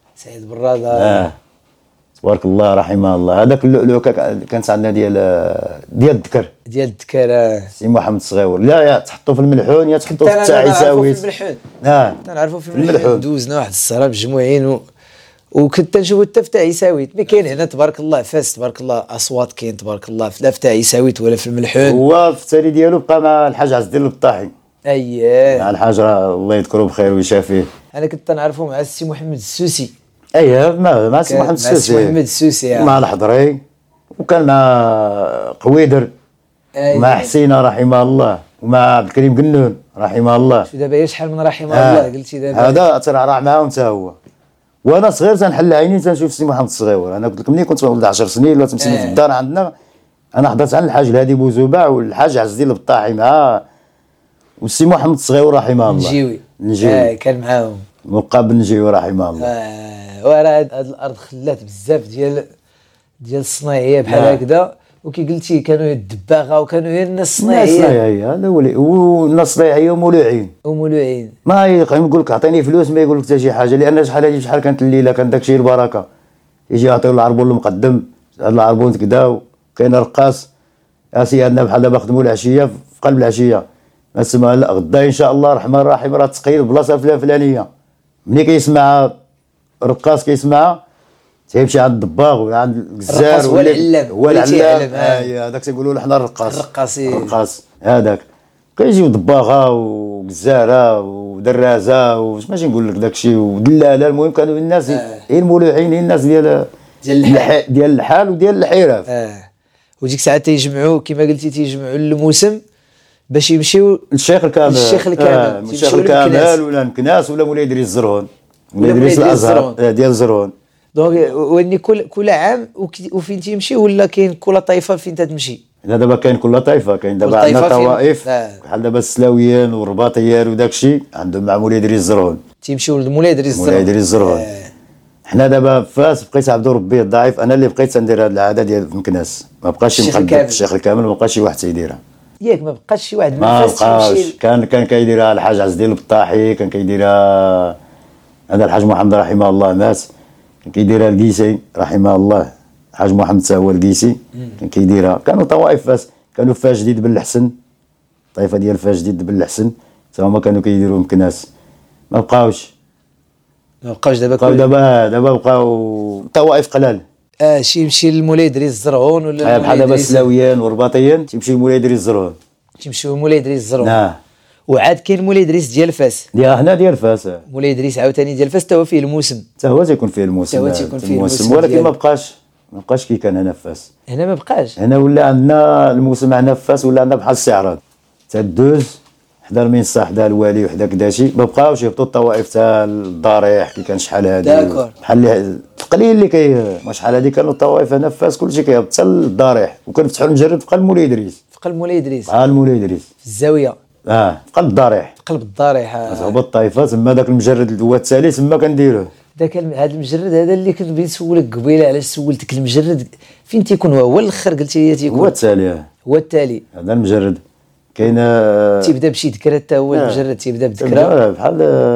تبارك الله رحمه الله. هذاك اللؤلؤ كانت عندنا ديال الذكر سي محمد الصغيور. لا يا تحطوا في الملحون يا تحطوا في التعيساويت. تنعرفوا في الملحون دوزنا واحد السهره مجموعين وكنت نشوفوا حتى في عيساويت. مي كاين هنا تبارك الله فاس تبارك الله اصوات كاين تبارك الله لا في عيساويت ولا في الملحون. هو في التالي ديالو بقى مع الحاج عز الدين البطاحي. مع الحاج الله يذكره بخير ويشافيه. انا كنت نعرفه مع السي محمد السوسي. مع السي محمد السوسي مع الحضري وكان مع قويدر مع حسينه رحمه الله ومع عبد الكريم قنون رحمه الله. شو دابا شحال من رحمه الله قلتي دابا هذا ترعرع معاهم حتى هو. وانا صغير تنحل عيني تنشوف السي محمد الصغيور. انا قلت لك ملي كنت ولد 10 سنين ولا 8 سنين في الدار عندنا انا حضرت عند الحاج الهادي بوزوبع والحاج عز الدين البطاحي معاه والسي محمد الصغيور رحمه الله. نجيوي كان معاهم مقابل نجيوي رحمه الله. وراه هاد الارض خلات بزاف ديال الصناعيه بحال هكذا. وكي قلتي كانوا الدباغه وكانوا غير الناس الصناعيه. هذا هو والناس الصناعيه ومولوعين ما يقول لك اعطيني فلوس ما يقول لك حتى شي حاجه. لان شحال كانت الليله كان داكشي البركه يجي يعطيو العربون المقدم هذا العربون كدا. كاين رقاص اسيادنا بحال دابا خدموا العشيه في قلب العشيه ما تسمى لا غدا ان شاء الله الرحمن الرحيم راه تقيل بلاصه فلانيه. ملي كيسمع الرقاص كيسمعها تيمشي عند الدباغ ولا عند الجزار هو العلام. هذاك تيقولوا له حنا الرقاص هذاك كيجيو دباغه وجزاره ودرازه واش ماشي نقول لك داكشي ودلاله. المهم كانوا الناس المولوعين الناس ديال الحال وديال الحراف. وديك الساعه تيجمعوا كما قلتي تيجمعوا الموسم باش يمشيو للشيخ الكامل. الشيخ الكامل ولا المكناس ولا مولاي ادريس الزرهون مولاي ادريس الازهر ديال الزرهون. دونك واني كل عام وفين تيمشي ولا كاين كل طائفه فين تمشي؟ لا دابا كاين كل طائفه. كاين دابا عندنا طوائف بحال دابا السلاويين والرباطيين وداكشي عندهم مع مولاي ادريس الزرهون. تيمشيو لمولاي ادريس الزرهون. حنا دابا فاس بقيت عبد ربي الضعيف انا اللي بقيت ندير هذه العاده ديال المكناس. ما بقاش الشيخ الكامل ما بقاش شي واحد تيديرها. ما بقاش شي واحد ما بقاش. كان كيديرها الحاج عز الدين البطاحي كان كيديرها هذا الحاج محمد رحمه الله مات كان كيديرها القيسي رحمه الله. الحاج محمد تا هو القيسي كان كيديرها. كانوا طوائف فاس كانوا فاس جديد بن الحسن طائفه ديال فاس جديد بن الحسن تا هما كانوا كيديروا مكناس. ما بقاوش دابا بقاو طوائف قلال. يمشي لمولاي ادريس الزرهون ولا بحال دابا السلاويين والرباطيين تيمشي لمولاي ادريس الزرهون. تيمشيو لمولاي ادريس الزرهون. وعاد كاين مولاي ادريس ديال فاس. هنا ديال فاس. مولاي ادريس عاوتاني ديال فاس، حتى هو فيه الموسم. حتى هو تيكون فيه الموسم. ولكن ما بقاش كي كان هنا في فاس. هنا ما بقاش. هنا ولا عندنا الموسم هنا في فاس، ولا عندنا بحال الاستعراض. تدوز حدا المنصه حدا الوالي وحدا كداشي، ما بقاوش يهبطوا الطوائف تاع الضريح كي كان شحال هادي. بحال القليل اللي ما شحال هادي كانوا الطوائف هنا في فاس كلشي كيهبط حتى للضريح، وكنفتحوا المجرد في قلب مولاي ادريس. في قلب مولاي ادريس. في الزاويه. في قلب الضريح. في قلب الضريح. هبط الطائفه تما داك المجرد هو التالي تما كنديروه. هذا المجرد هذا اللي كنت بغيت نسولك قبيله، علاش سولتك المجرد فين تيكون؟ هو الاخر قلتي لي تيكون هو التالي. هذا المجرد كاين تيبدا بشي ذكرى، حتى هو المجرد تيبدا بذكرى بحال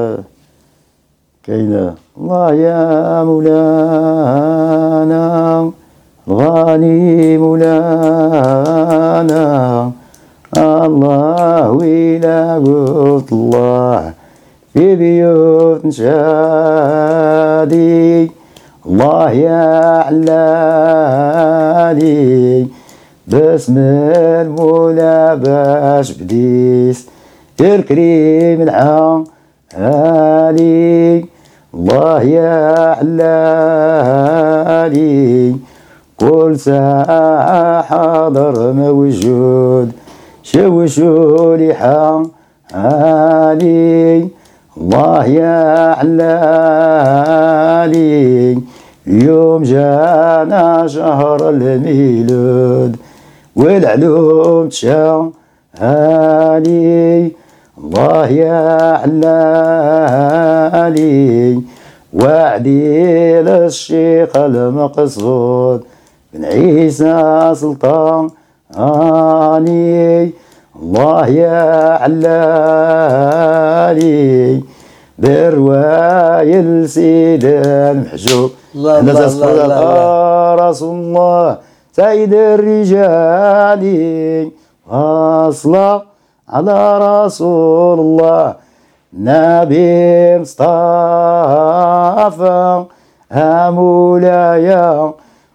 كاين الله يا مولانا الغالي مولانا الله ويلا قلت الله في بيوت نشادي الله يا علالي باسم المولى باش بديس الكريم العالي الله يا علالي كل ساعة حاضر موجود شوشوا لي حالي الله يا علالي اليوم جانا شهر الميلاد والعلوم تشالي الله يا علالي وعدي للشيخ المقصود بن عيسى سلطان الله يا علالي برواية السيد المحجوب الله رسول الله سيد الرجال واصلة على رسول الله نبي مصطفى مولاي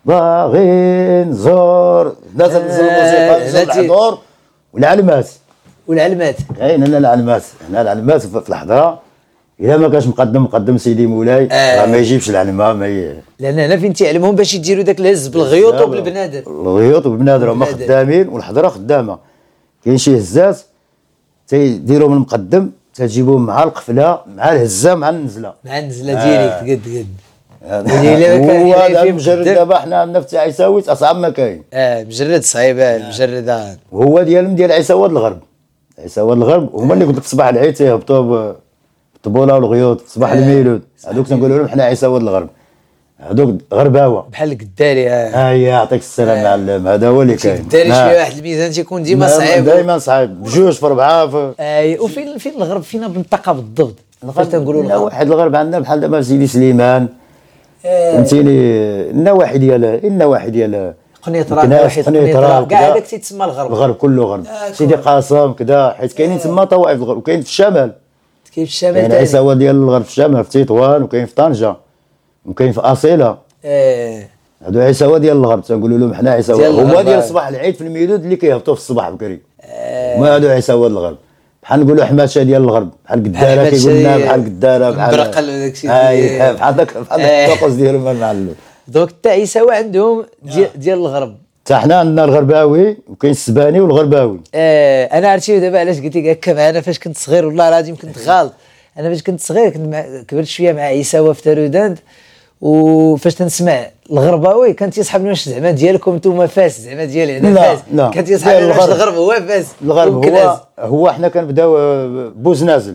باغي نزور ناس الموسيقى نزور الحضور والعلمات كاين هنا العلمات في الحضره. الا ما كانش مقدم سيدي مولاي راه ما يجيبش العلمه لان هنا فين تيعلمهم باش يديروا داك الهز بالغيوط وبالبنادر هما خدامين والحضره خدامه. كاين شي هزات تيديروا من المقدم تجيبوهم مع القفله مع الهزه مع النزله ديالك قد هو هذا المجرد دابا حنا عندنا في عيساويت اصعب ما كاين. مجرد صعيب المجرد وهو ديال عيساوات الغرب. هما اللي قلت لك صباح العيد تيهبطوا بالطبوله والغيوط في صباح الميلود. هذوك تنقولوا لهم حنا عيساوات الغرب، هذوك غرباوه بحال القداري. يعطيك السلام معلم. هذا هو اللي كاين. القداري شي واحد الميزان تيكون ديما صعيب، دائما صعيب بجوج في اربعه وفين الغرب فينا بالمنطقه بالضبط؟ فاش تنقولوا الغرب واحد الغرب عندنا بحال دابا سيدي سليمان فهمتيني النواحي ديال قنيطره كاع هذاك تيتسمى الغرب كله غرب. سيدي قاسم كذا حيت كاينين تما طوائف الغرب. وكاين في الشمال يعني عيساوات ديال الغرب في الشمال في تطوان وكاين في طنجه وكاين في اصيله. هادو عيساوات ديال الغرب تنقولوا لهم حنا عيساوات. هما ديال صباح العيد في الميلود اللي كيهبطوا في الصباح بكري. ما هادو عيساوات الغرب بحال نقولوا حماشه ديال الغرب بحال قداره كيقولنا بحال قداره بحال برقل وداك الشيء بحال داك الطقوس ديالهم المعلم. دوك حتى عيساوه عندهم ديال الغرب. حتى حنا عندنا الغرباوي وكاين السباني والغرباوي. انا عرفتي دابا علاش قلت لك هكا معنا فاش كنت صغير والله العظيم كنت غالط. انا فاش كنت صغير كبرت شويه مع عيساوه في تارودانت، وفاش تنسمع الغرباوي كان تيسحبني واش زعما ديالكم نتوما فاس زعما ديالي انا فاس. كان تيسحبني واش الغرب هو فاس. الغرب هو حنا كنبداو بوزنازل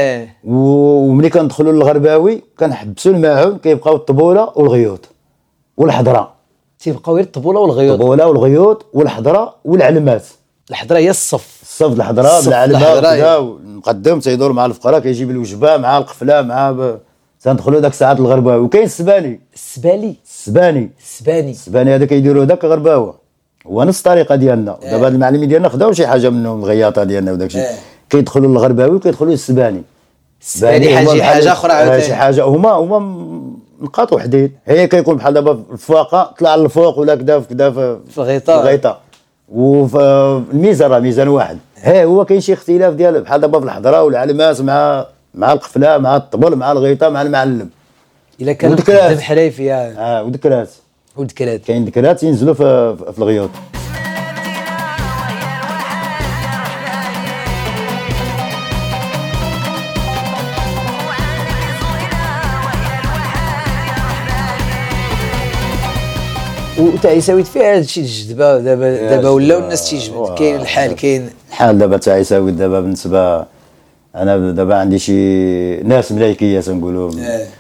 وملي كندخلوا للغرباوي كنحبسوا الماعون كيبقاو الطبوله والغيوط والحضره. تيبقاو غير الطبوله والغيوط والحضره والعلمات. الحضره هي الصف الحضره بالعلمات المقدم تيدور مع الفقراء كيجيب الوجبه مع القفله مع تندخلوا داك الساعات الغرباوي. وكاين السباني هذا كيديروا داك غرباوه هو نفس الطريقه ديالنا. دابا هاد المعلمين ديالنا خداو شي حاجه منهم الغياطه ديالنا وداك الشيء. كيدخلوا للغرباوي وكيدخلوا للسباني. حاجه اخرى شي حاجه هما نقاط وحدين. هي كيكون بحال دابا الفواقه طلع للفوق ولا كذا في الغيطه وفي الميزان راه ميزان واحد. هو كاين شي اختلاف ديال بحال دابا في الحضره والعلمات مع القفله مع الطبل مع الغيطه مع المعلم. الا كان القدام حريفيه ودكرات كاين دكرات ينزلوا في الغيوط. وتا عيساويت فيها هذا الشيء الجذبه دابا ولاو الناس تيجبد. كاين الحال دابا تاع عيساويت دابا بالنسبه انا دابا عندي شي ناس ملايكيه تنقولوا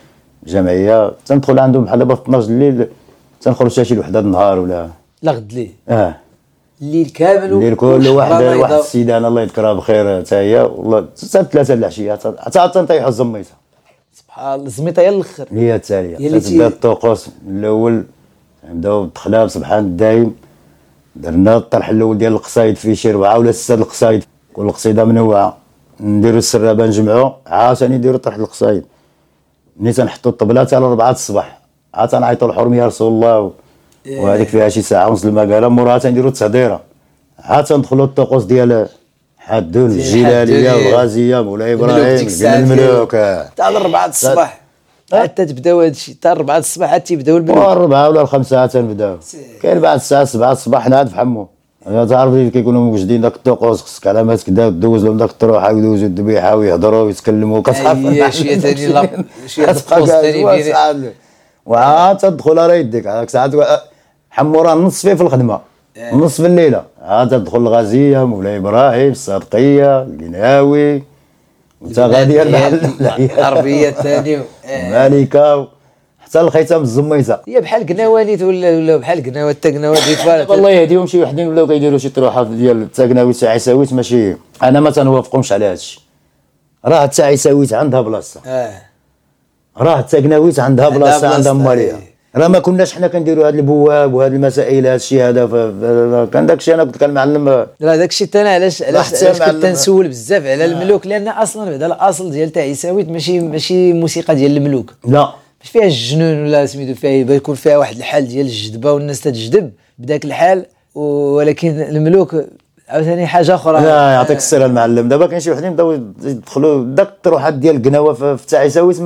جمعيه تندخل عندهم بحال دابا في 12 الليل تنخرج حتى شي وحده النهار ولا غد ليه الليل كامل. الليل كل واحد السيده الله يذكرها بخير حتى هي والله حتى 3 العشيه حتى تنطيحوا الزميته. سبحان الله الزميته هي الاخر هي التاليه تبدا الطقوس الاول نبداو بالتخلاب سبحان الدايم. درنا الطرح الاول ديال القصايد فيه شي 4 ولا 6 القصايد كل قصيده منوعه. نديروا السرابه نجمعوا عاوتاني نديروا طرح القصايد. ملي تنحطوا الطبله حتى 4 الصباح عاد تنعيطوا الحرم يا رسول الله وهذيك فيها شي ساعه ونص المقاله. موراها تنديروا التهديره عاد تندخلوا الطقوس ديال حدون الجلاليه والغازيه مولاي ابراهيم ديال الملوك حتى 4 الصباح حتى تبداو هادشي حتى 4 الصباح حتى تبداو الملوك. 4 ولا 5 تنبداو. كاين بعد الساعه 7 الصباح نعاد في حمو. انا تعرف اللي كيكونوا موجودين داك الطقوس خصك علامات كدا دوز لهم داك الطروحه ويدوزوا الذبيحه ويهضروا ويتكلموا كتصحى شي ثاني لا شي طقوس ثاني وعاد تدخل راه يديك هاك ساعات حمو راه نص فيه في الخدمه نص في الليله عاد تدخل الغازيه مولاي ابراهيم الصادقيه القناوي وانت غادي العربيه الثاني مالكه حتى الختام الزميته. هي بحال قناوانيت ولا بحال قناوات حتى قناوات ديال والله يهديهم شي وحدين ولاو كيديروا شي طروحات ديال حتى قناويت تاع عيساويت ماشي انا ما تنوافقهمش على هادشي. راه حتى عيساويت عندها بلاصه راه حتى قناويت عندها بلاصه عندها ماليه. راه ما كناش حنا كنديروا هاد البواب وهاد المسائل هاد الشيء هذا كان داكشي انا كنت كنعلم. لا داكشي حتى انا علاش كنت تنسول بزاف على الملوك لان اصلا بعدا الاصل ديال تاع عيساويت ماشي موسيقى ديال الملوك. لا مش فيها الجنون ولا سميتو فيها يكون فيها واحد الحال ديال الجذبه والناس تتجذب بداك الحال ولكن الملوك عاوتاني حاجه اخرى. لا يعطيك السر المعلم. دابا كاين شي وحدين بداو يدخلوا داك الطروحات ديال القناوه في تاع عيساويت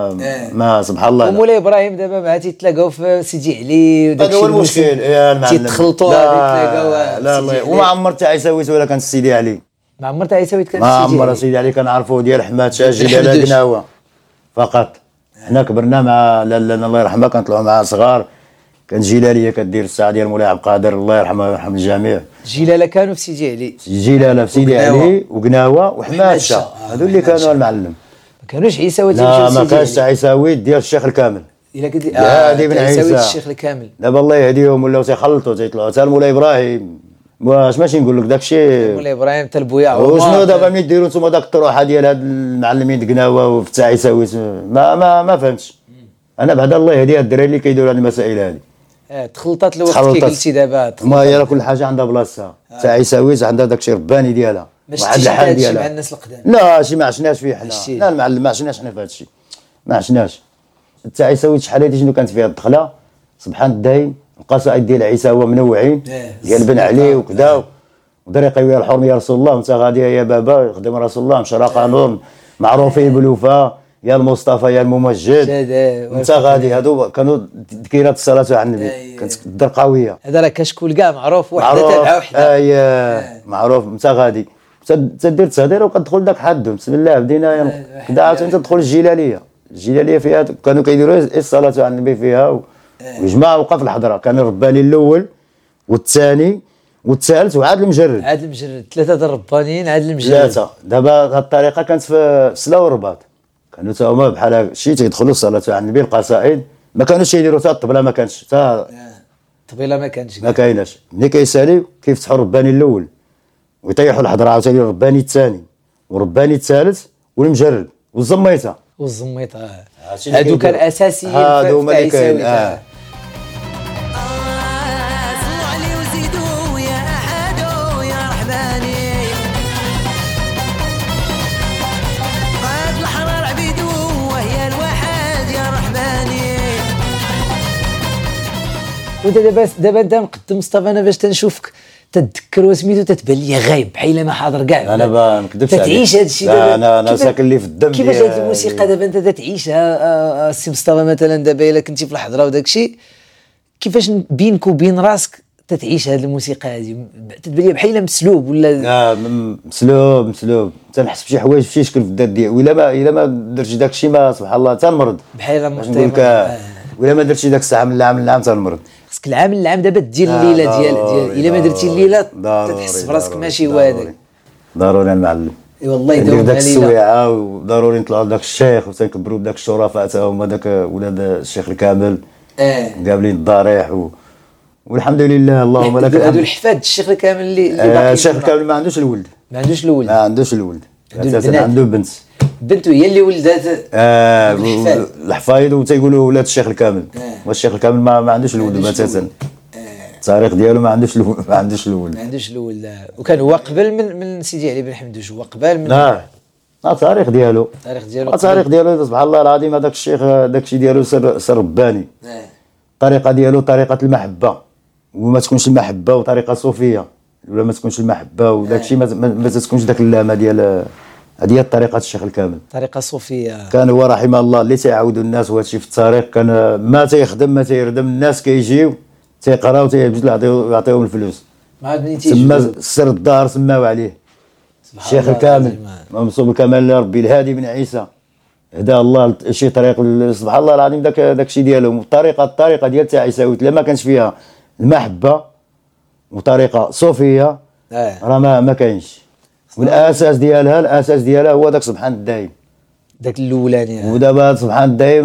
ما سبحان الله. ومولاي ابراهيم دابا مع تيتلاقاو في سيدي علي وداك هو المشكل يا المعلم تيتخلطوا تلاقاو. لا وما عمر تاع عيساويت ولا كان سيدي علي. ما عمر تاع عيساويت كان سيدي علي. ما عمر سيدي علي كنعرفوه ديال حماد شاه جلاله قناوه فقط. حنا كبرنا مع لالا الله يرحمها كنطلعوا معها صغار. كان جلاليه كدير الساعه ديال مولاي عبد القادر الله يرحمه ويرحم الجميع. جلاله كانوا في سيدي علي. جلاله في سيدي علي وقناوه وحماد شاه هذو اللي كانوا المعلم. ما كانوش عيساويت. لا ما كانش عيساويت ديال الشيخ الكامل. الا قلت لي هادي بن عيسى الشيخ الكامل. دابا الله يهديهم ولاو تيخلطوا تيطلعوا حتى مولاي ابراهيم. واش ماشي نقول لك داكشي مولاي ابراهيم حتى البويا وشنو دابا ملي ديروا نتوما داك الطروحه ديال هاد المعلمين قناوه وفتح عيساويت ما فهمتش. انا بعدا الله يهدي هاد الدراري اللي كيديروا هاد المسائل هادي. تخلطات الوقت كي قلتي دابا. ما هي كل حاجه عندها بلاصتها. تاع عيساويت عندها داكشي رباني ديالها واحد الحال ديالها مع الناس القدام. لا شي ما عشناش فيه حنا. لا المعلم ما عشناش حنا في هاد الشيء ما عشناش. تاع عيساويت شحال هادي شنو كانت فيها الدخله سبحان الدايم القصائد ديال عيساوه منوعين ديال بن علي وكذا ودريقه ويا الحرم يا رسول الله وانت غادي يا بابا يخدم رسول الله مشرقه نور معروفين بالوفاء يا المصطفى يا الممجد انت غادي. هادو كانوا ذكيرات الصلاه على النبي كانت الدرقاويه. هذا راه كشكول كاع معروف وحده تابعه وحده معروف انت غادي تدير التهدير وكتدخل داك حدهم بسم الله بدينا كدا عاوتاني تدخل الجلاليه فيها كانوا كيديروا الصلاه على النبي فيها وجماعه وقف الحضره. كان الرباني الاول والثاني والثالث وعاد المجرد. 3 د الربانيين عاد المجرد 3. دابا هذه الطريقه كانت في سلا والرباط كانوا تا هما بحال شي تيدخلوا الصلاه على النبي القصائد ما كانوش يديروا حتى الطبله ما كانش حتى الطبله ما كايناش. ملي كيساليو كيفتحوا الرباني الاول ويطيحوا الحضره عاوتاني الرباني الثاني والرباني الثالث والمجرد والزميته هادو كان اساسيين هادو هما اللي كاين. وانت دابا انت مقدم مصطفى انا باش تنشوفك تتذكر سميتو تتبان لي غايب بحال ما حاضر كاع. انا ما نكذبش عليك، تعيش هذا الشيء دابا. انا ساكن لي في الدم. كيفاش هذه الموسيقى دابا انت تعيشها السي مصطفى مثلا دابا الا كنتي في الحضره وداك الشيء، كيفاش بينك وبين راسك تتعيش هذه الموسيقى هذه؟ تتبان لي بحال مسلوب ولا مسلوب تنحس بشي حوايج بشي شكل في الذات ديالي، الا ما درتش داك الشيء ما سبحان الله تنمرض بحال نقول لك. ولا ما درتش داك الساعه من العام تنمرض. خصك العام دابا دير الليله ديال الا ما درتي الليله تحس براسك ماشي هو هذاك. ضروري المعلم. اي والله يدير داك السويعه، وضروري نطلعوا لذاك الشيخ وتنكبروا بداك الشرفاء حتى هما داك ولاد الشيخ الكامل قابلين الضريح والحمد لله اللهم لك الحمد. هادو الحفاد الشيخ الكامل اللي باقي. الشيخ الكامل ما عندوش الولد. عنده بنته هي اللي ولدات الحفايد وتيقولوا ولاد الشيخ الكامل. والشيخ الكامل ما عندوش الولد بتاتا. التاريخ ديالو ما عندوش الولد. وكان هو قبل من سيدي علي بن حمدوش، هو قبل من التاريخ ديالو سبحان الله العظيم. هذاك الشيخ داك الشيء ديالو سر رباني. الطريقه ديالو طريقه المحبه، وما تكونش المحبه وطريقه صوفيه، ولا ما تكونش المحبه وداك الشيء ما تكونش داك اللامه ديال هذه طريقه الشيخ الكامل، طريقه صوفيه. كان هو رحمه الله اللي تيعاودوا الناس وهذا الشيء في التاريخ. كان ما تيخدم ما تيردم، الناس كيجيو تيقراو تيبدلوا يعطيهم الفلوس. تما سر الدار سماو عليه الشيخ الكامل منصوب الكمال ربي الهادي بن عيسى. هدا الله شي طريق سبحان الله العظيم. داك الشيء ديالهم الطريقه ديال تاع عيساويت لما كانش فيها المحبه وطريقه صوفيه راه ما كاينش. والاساس ديالها هو داك سبحان الدايم، داك الاولاني. ودابا سبحان الدايم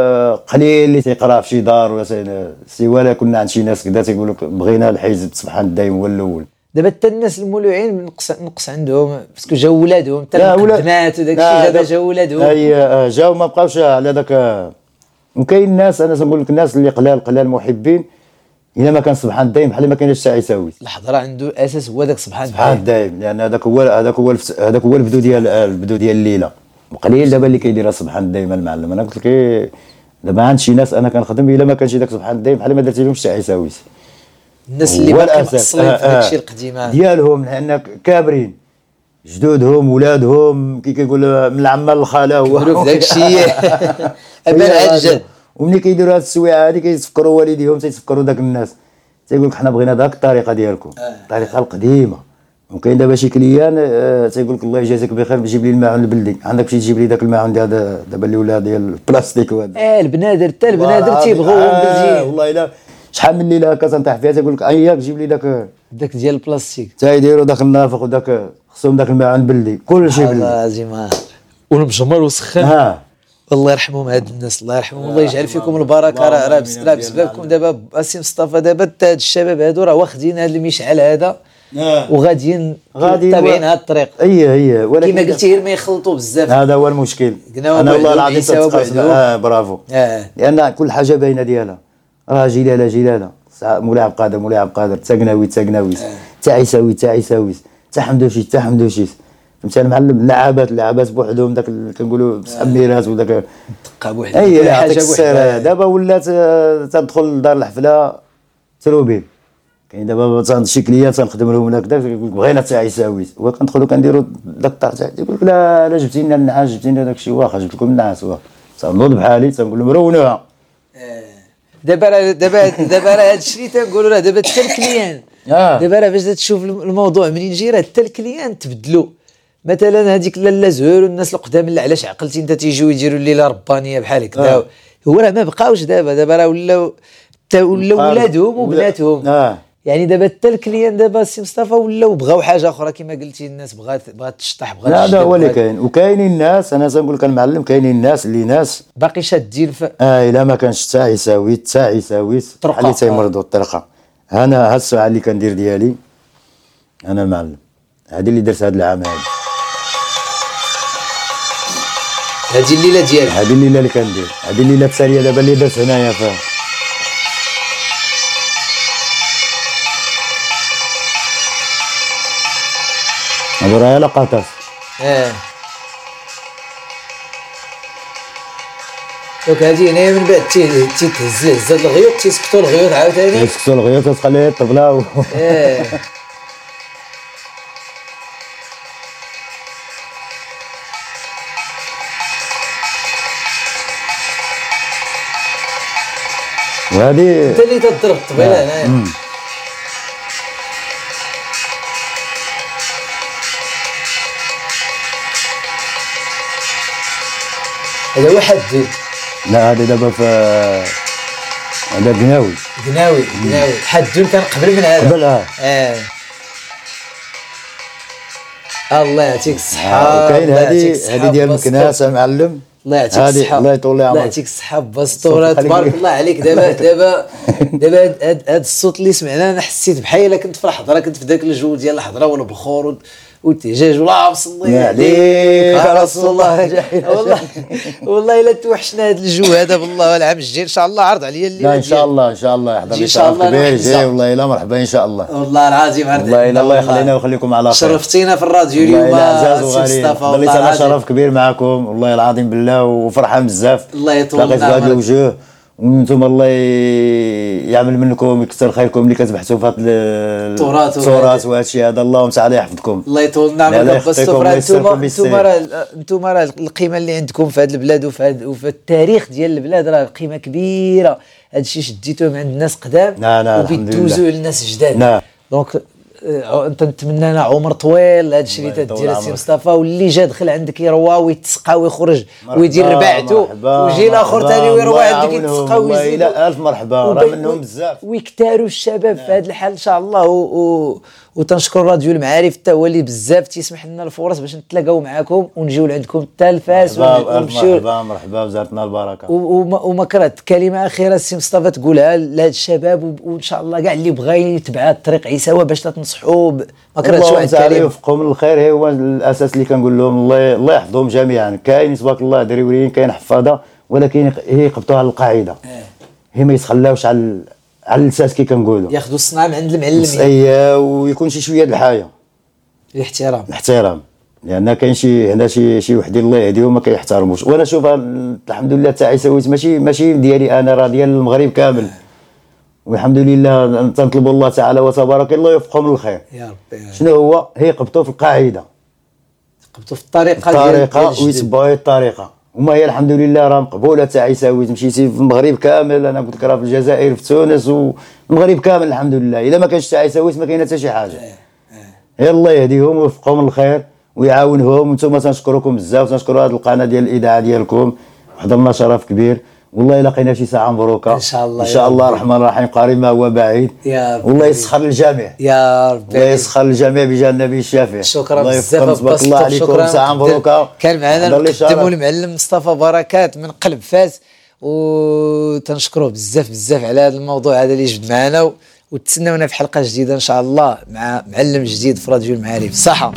قليل اللي تيقرا في شي دار ولا سوا لا كنا عند شي ناس كذا تيقول لك بغينا الحزب سبحان الدايم هو الاول. دابا حتى الناس المولوعين نقص عندهم باسكو جاو ولادهم حتى المقدمات وداك الشيء دابا جاو ولادهم. اي جاو ما بقاوش على داك. وكاين الناس انا تنقول لك الناس اللي قلال محبين الا ما كان سبحان الدايم بحال ما كاينش حتى عيساوي. الحضره عنده اساس هو داك سبحان الدايم، لان هذاك هو البدو ديال الليله. وقليل دابا اللي كيديرها سبحان الدايم المعلم. انا قلت لك دابا عند شي ناس انا كنخدم الا ما كانش داك سبحان الدايم بحال ما درتي لهمش حتى عيساوي. الناس اللي باقي مأصلين في داك الشيء القديم ديالهم، لان كابرين جدودهم ولادهم كيقول من العمه للخاله هو في داك الشيء ابان عجل. وملي كيديروا هاد السويعه هذه كيتفكروا والديهم تيتفكروا داك الناس تيقول لك حنا بغينا داك الطريقه ديالكم الطريقه القديمه. وكاين دابا شي كليان تيقول لك الله يجازيك بخير جيب لي الماعون البلدي، عندك شي تجيب لي داك الماعون دابا اللي ولا ديال البلاستيك وهذا. البنادر حتى البنادر تيبغوهم بلدي. والله الا شحال من ليله هكا تنطيح فيها تيقول لك اياك جيب لي داك ديال البلاستيك. تيديروا داك النافق وداك خصهم داك الماعون البلدي كلشي بلدي. لازم والمجمر وسخن. الله يرحمهم هاد الناس، الله يرحمهم والله يجعل فيكم البركه. راه بسببكم دابا السي مصطفى دابا هاد الشباب هادو راه واخدين هاد المشعل هذا وغاديين تابعين هاد الطريق. هي ولكن كما قلتي غير ما يخلطوا بزاف. هذا هو المشكل. انا والله العظيم برافو. لان كل حاجه باينه ديالها، راه جلاله مولاي عبد القادر تاقناوي تا عيساوي تا حمدوشيت فهمتي المعلم. اللعابات بوحدهم داك كنقولوا سحب ميراث وداك دقه بوحدها. اي حاجه بوحدها. دابا ولات تدخل لدار الحفله تروبيل. كاين دابا شي كليات تنخدم لهم هناك بغينا تا عيساوي وكندخلوا كنديروا داك الطرح يقول لك لا جبتي لنا النعاس جبتي لنا داك الشيء واخا جبت لكم النعاس واخا تنوض بحالي تنقول لهم رونوها. دابا راه هذا الشيء تنقولوا راه دابا حتى الكليان دابا راه باش تشوف الموضوع منين جاي راه حتى الكليان تبدلوا. مثلا هذيك لاله زهور والناس القدام اللي علاش عقلتي انت تيجيو يديروا الليله ربانيه بحال هكذا. هو راه ما بقاوش دابا راه ولاو ولادهم وبناتهم. يعني دابا حتى الكليان دابا السي مصطفى ولاو بغاو حاجه اخرى كما قلتي. الناس بغات تشطح بغات هذا هو اللي كاين. وكاينين الناس انا تنقول لك المعلم كاينين الناس اللي ناس باقي شادين الا ما كانش تا عيساوي اللي تيمرضوا الطرقه. انا هاد الساعه اللي كندير ديالي انا المعلم هذه اللي درت هذا العام هذه الليله ديالك. هذه الليله اللي كندير هذه الليله الثانيه دابا اللي درت هنايا هذا راه لقطات. دونك هذه هنايا من بعد تيتهز الغيوط تيسكتوا الغيوط عاوتاني تخلي الطبله وهذه انت اللي تضرب الطبيله هنايا. هذا واحد لا هذا دابا في هذا قناوي حدون كان قبل من هذا قبل الله يعطيك الصحة. وكاين هذه ديال المكناس معلم، الله يعطيك الصحة، الله يطول لي عمرك، الله يعطيك الصحة باسطورة تبارك الله عليك. دابا هذا الصوت اللي سمعنا انا حسيت بحال الا كنت في الحضرة، كنت في ذاك الجو ديال الحضرة والبخور والدجاج والله مصلي عليك يا رسول الله. والله الا توحشنا هذا الجو هذا بالله. والعام الجاي ان شاء الله عرض عليا الليله. لا ان شاء الله يحضر لي شرف كبير جاي والله الا مرحبا ان شاء الله. والله العظيم والله الا الله يخلينا ويخليكم على خير. شرفتينا في الراديو اليوم عزاز وغالي، والله انا شرف كبير معكم والله العظيم بالله، وفرحان بزاف. الله يطول لقيت بهذه الوجوه وانتم الله يعمل منكم يكثر خيركم اللي كتبحثوا في هذا التراث وهذا الشيء هذا. اللهم تعالى يحفظكم. الله يطول نعمك بالصفر. انتم راه القيمه اللي عندكم في هذه البلاد وفي التاريخ ديال البلاد راه قيمه كبيره. هذا الشيء شديتوه من عند الناس قدام وبيدوزوه للناس جداد. دونك انت نتمنى لنا عمر طويل. هذا الشيء اللي تدير السي مصطفى، واللي جا دخل عندك يروى ويتسقى ويخرج ويدير رباعته، ويجي الاخر ثاني يروى عندك يتسقى ويزيد. الف مرحبا، راه منهم بزاف ويكثروا الشباب في هذا الحال ان شاء الله. وتنشكر راديو المعارف حتى هو اللي بزاف تيسمح لنا الفرص باش نتلاقاو معاكم ونجيو لعندكم حتى الفاس ونمشيو. مرحبا وزارتنا البركه. وما كرهت كلمه اخيره السي مصطفى تقولها لهاد الشباب، وان شاء الله كاع اللي بغى يتبع الطريق عيساوى باش تنصحوا. ما كرهتش واحد الكلمه. يوفقهم للخير هو الاساس اللي كنقول لهم. الله يحفظهم جميعا. كاين تبارك الله دريوريين، كاين حفاظه، ولكن هي يقبطوها على القاعده. هي ما يتخلاوش على الاساس كي كنقولوا، ياخذوا الصنعه من عند المعلم. ويكون شويه د الحياه، الاحترام. لان كاين شي وحدين الله يهديهم ما كيحترموش. وانا شوف الحمد لله تاع عيساويت ماشي ديالي انا، راه ديال المغرب كامل. والحمد لله تنطلب الله تعالى وتبارك الله يوفقهم للخير يا ربي. شنو هي يقبطوا في القاعده، يقبطوا في الطريقه ويتبعوا الطريقه. وما هي الحمد لله راه مقبوله تاع عيساويت. مشيتي في المغرب كامل، انا قلت لك راه في الجزائر، في تونس، والمغرب كامل الحمد لله. الا ما كانش تاع عيساويت ما كاينه حتى شي حاجه. يا الله يهديهم ويوفقهم للخير ويعاونهم. وانتم تنشكركم بزاف، تنشكروا هذه القناه ديال الاذاعه ديالكم، حضرنا شرف كبير. والله لقينا شي ساعه مبروكه ان شاء الله. ان شاء الله الرحمن الرحيم، قريب ما هو بعيد. يا رب. والله يسخر للجميع يا رب. الله يسخر للجميع بجاه النبي الشافع. شكرا بزاف. تبارك الله عليكم. ساعه مبروكه. كان معنا نقدموا المعلم مصطفى بركات من قلب فاس، وتنشكروه بزاف على هذا الموضوع هذا اللي جبد معنا. وتسناونا في حلقه جديده ان شاء الله مع معلم جديد في راديو المعارف. صحه.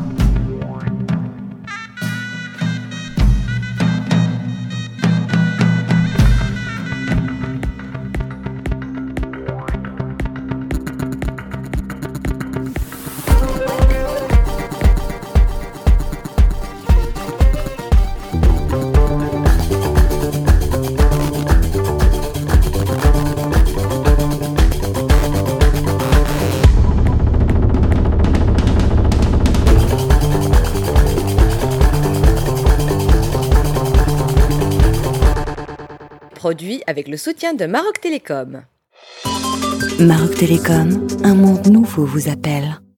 Produit avec le soutien de Maroc Télécom. Maroc Télécom, un monde nouveau vous appelle.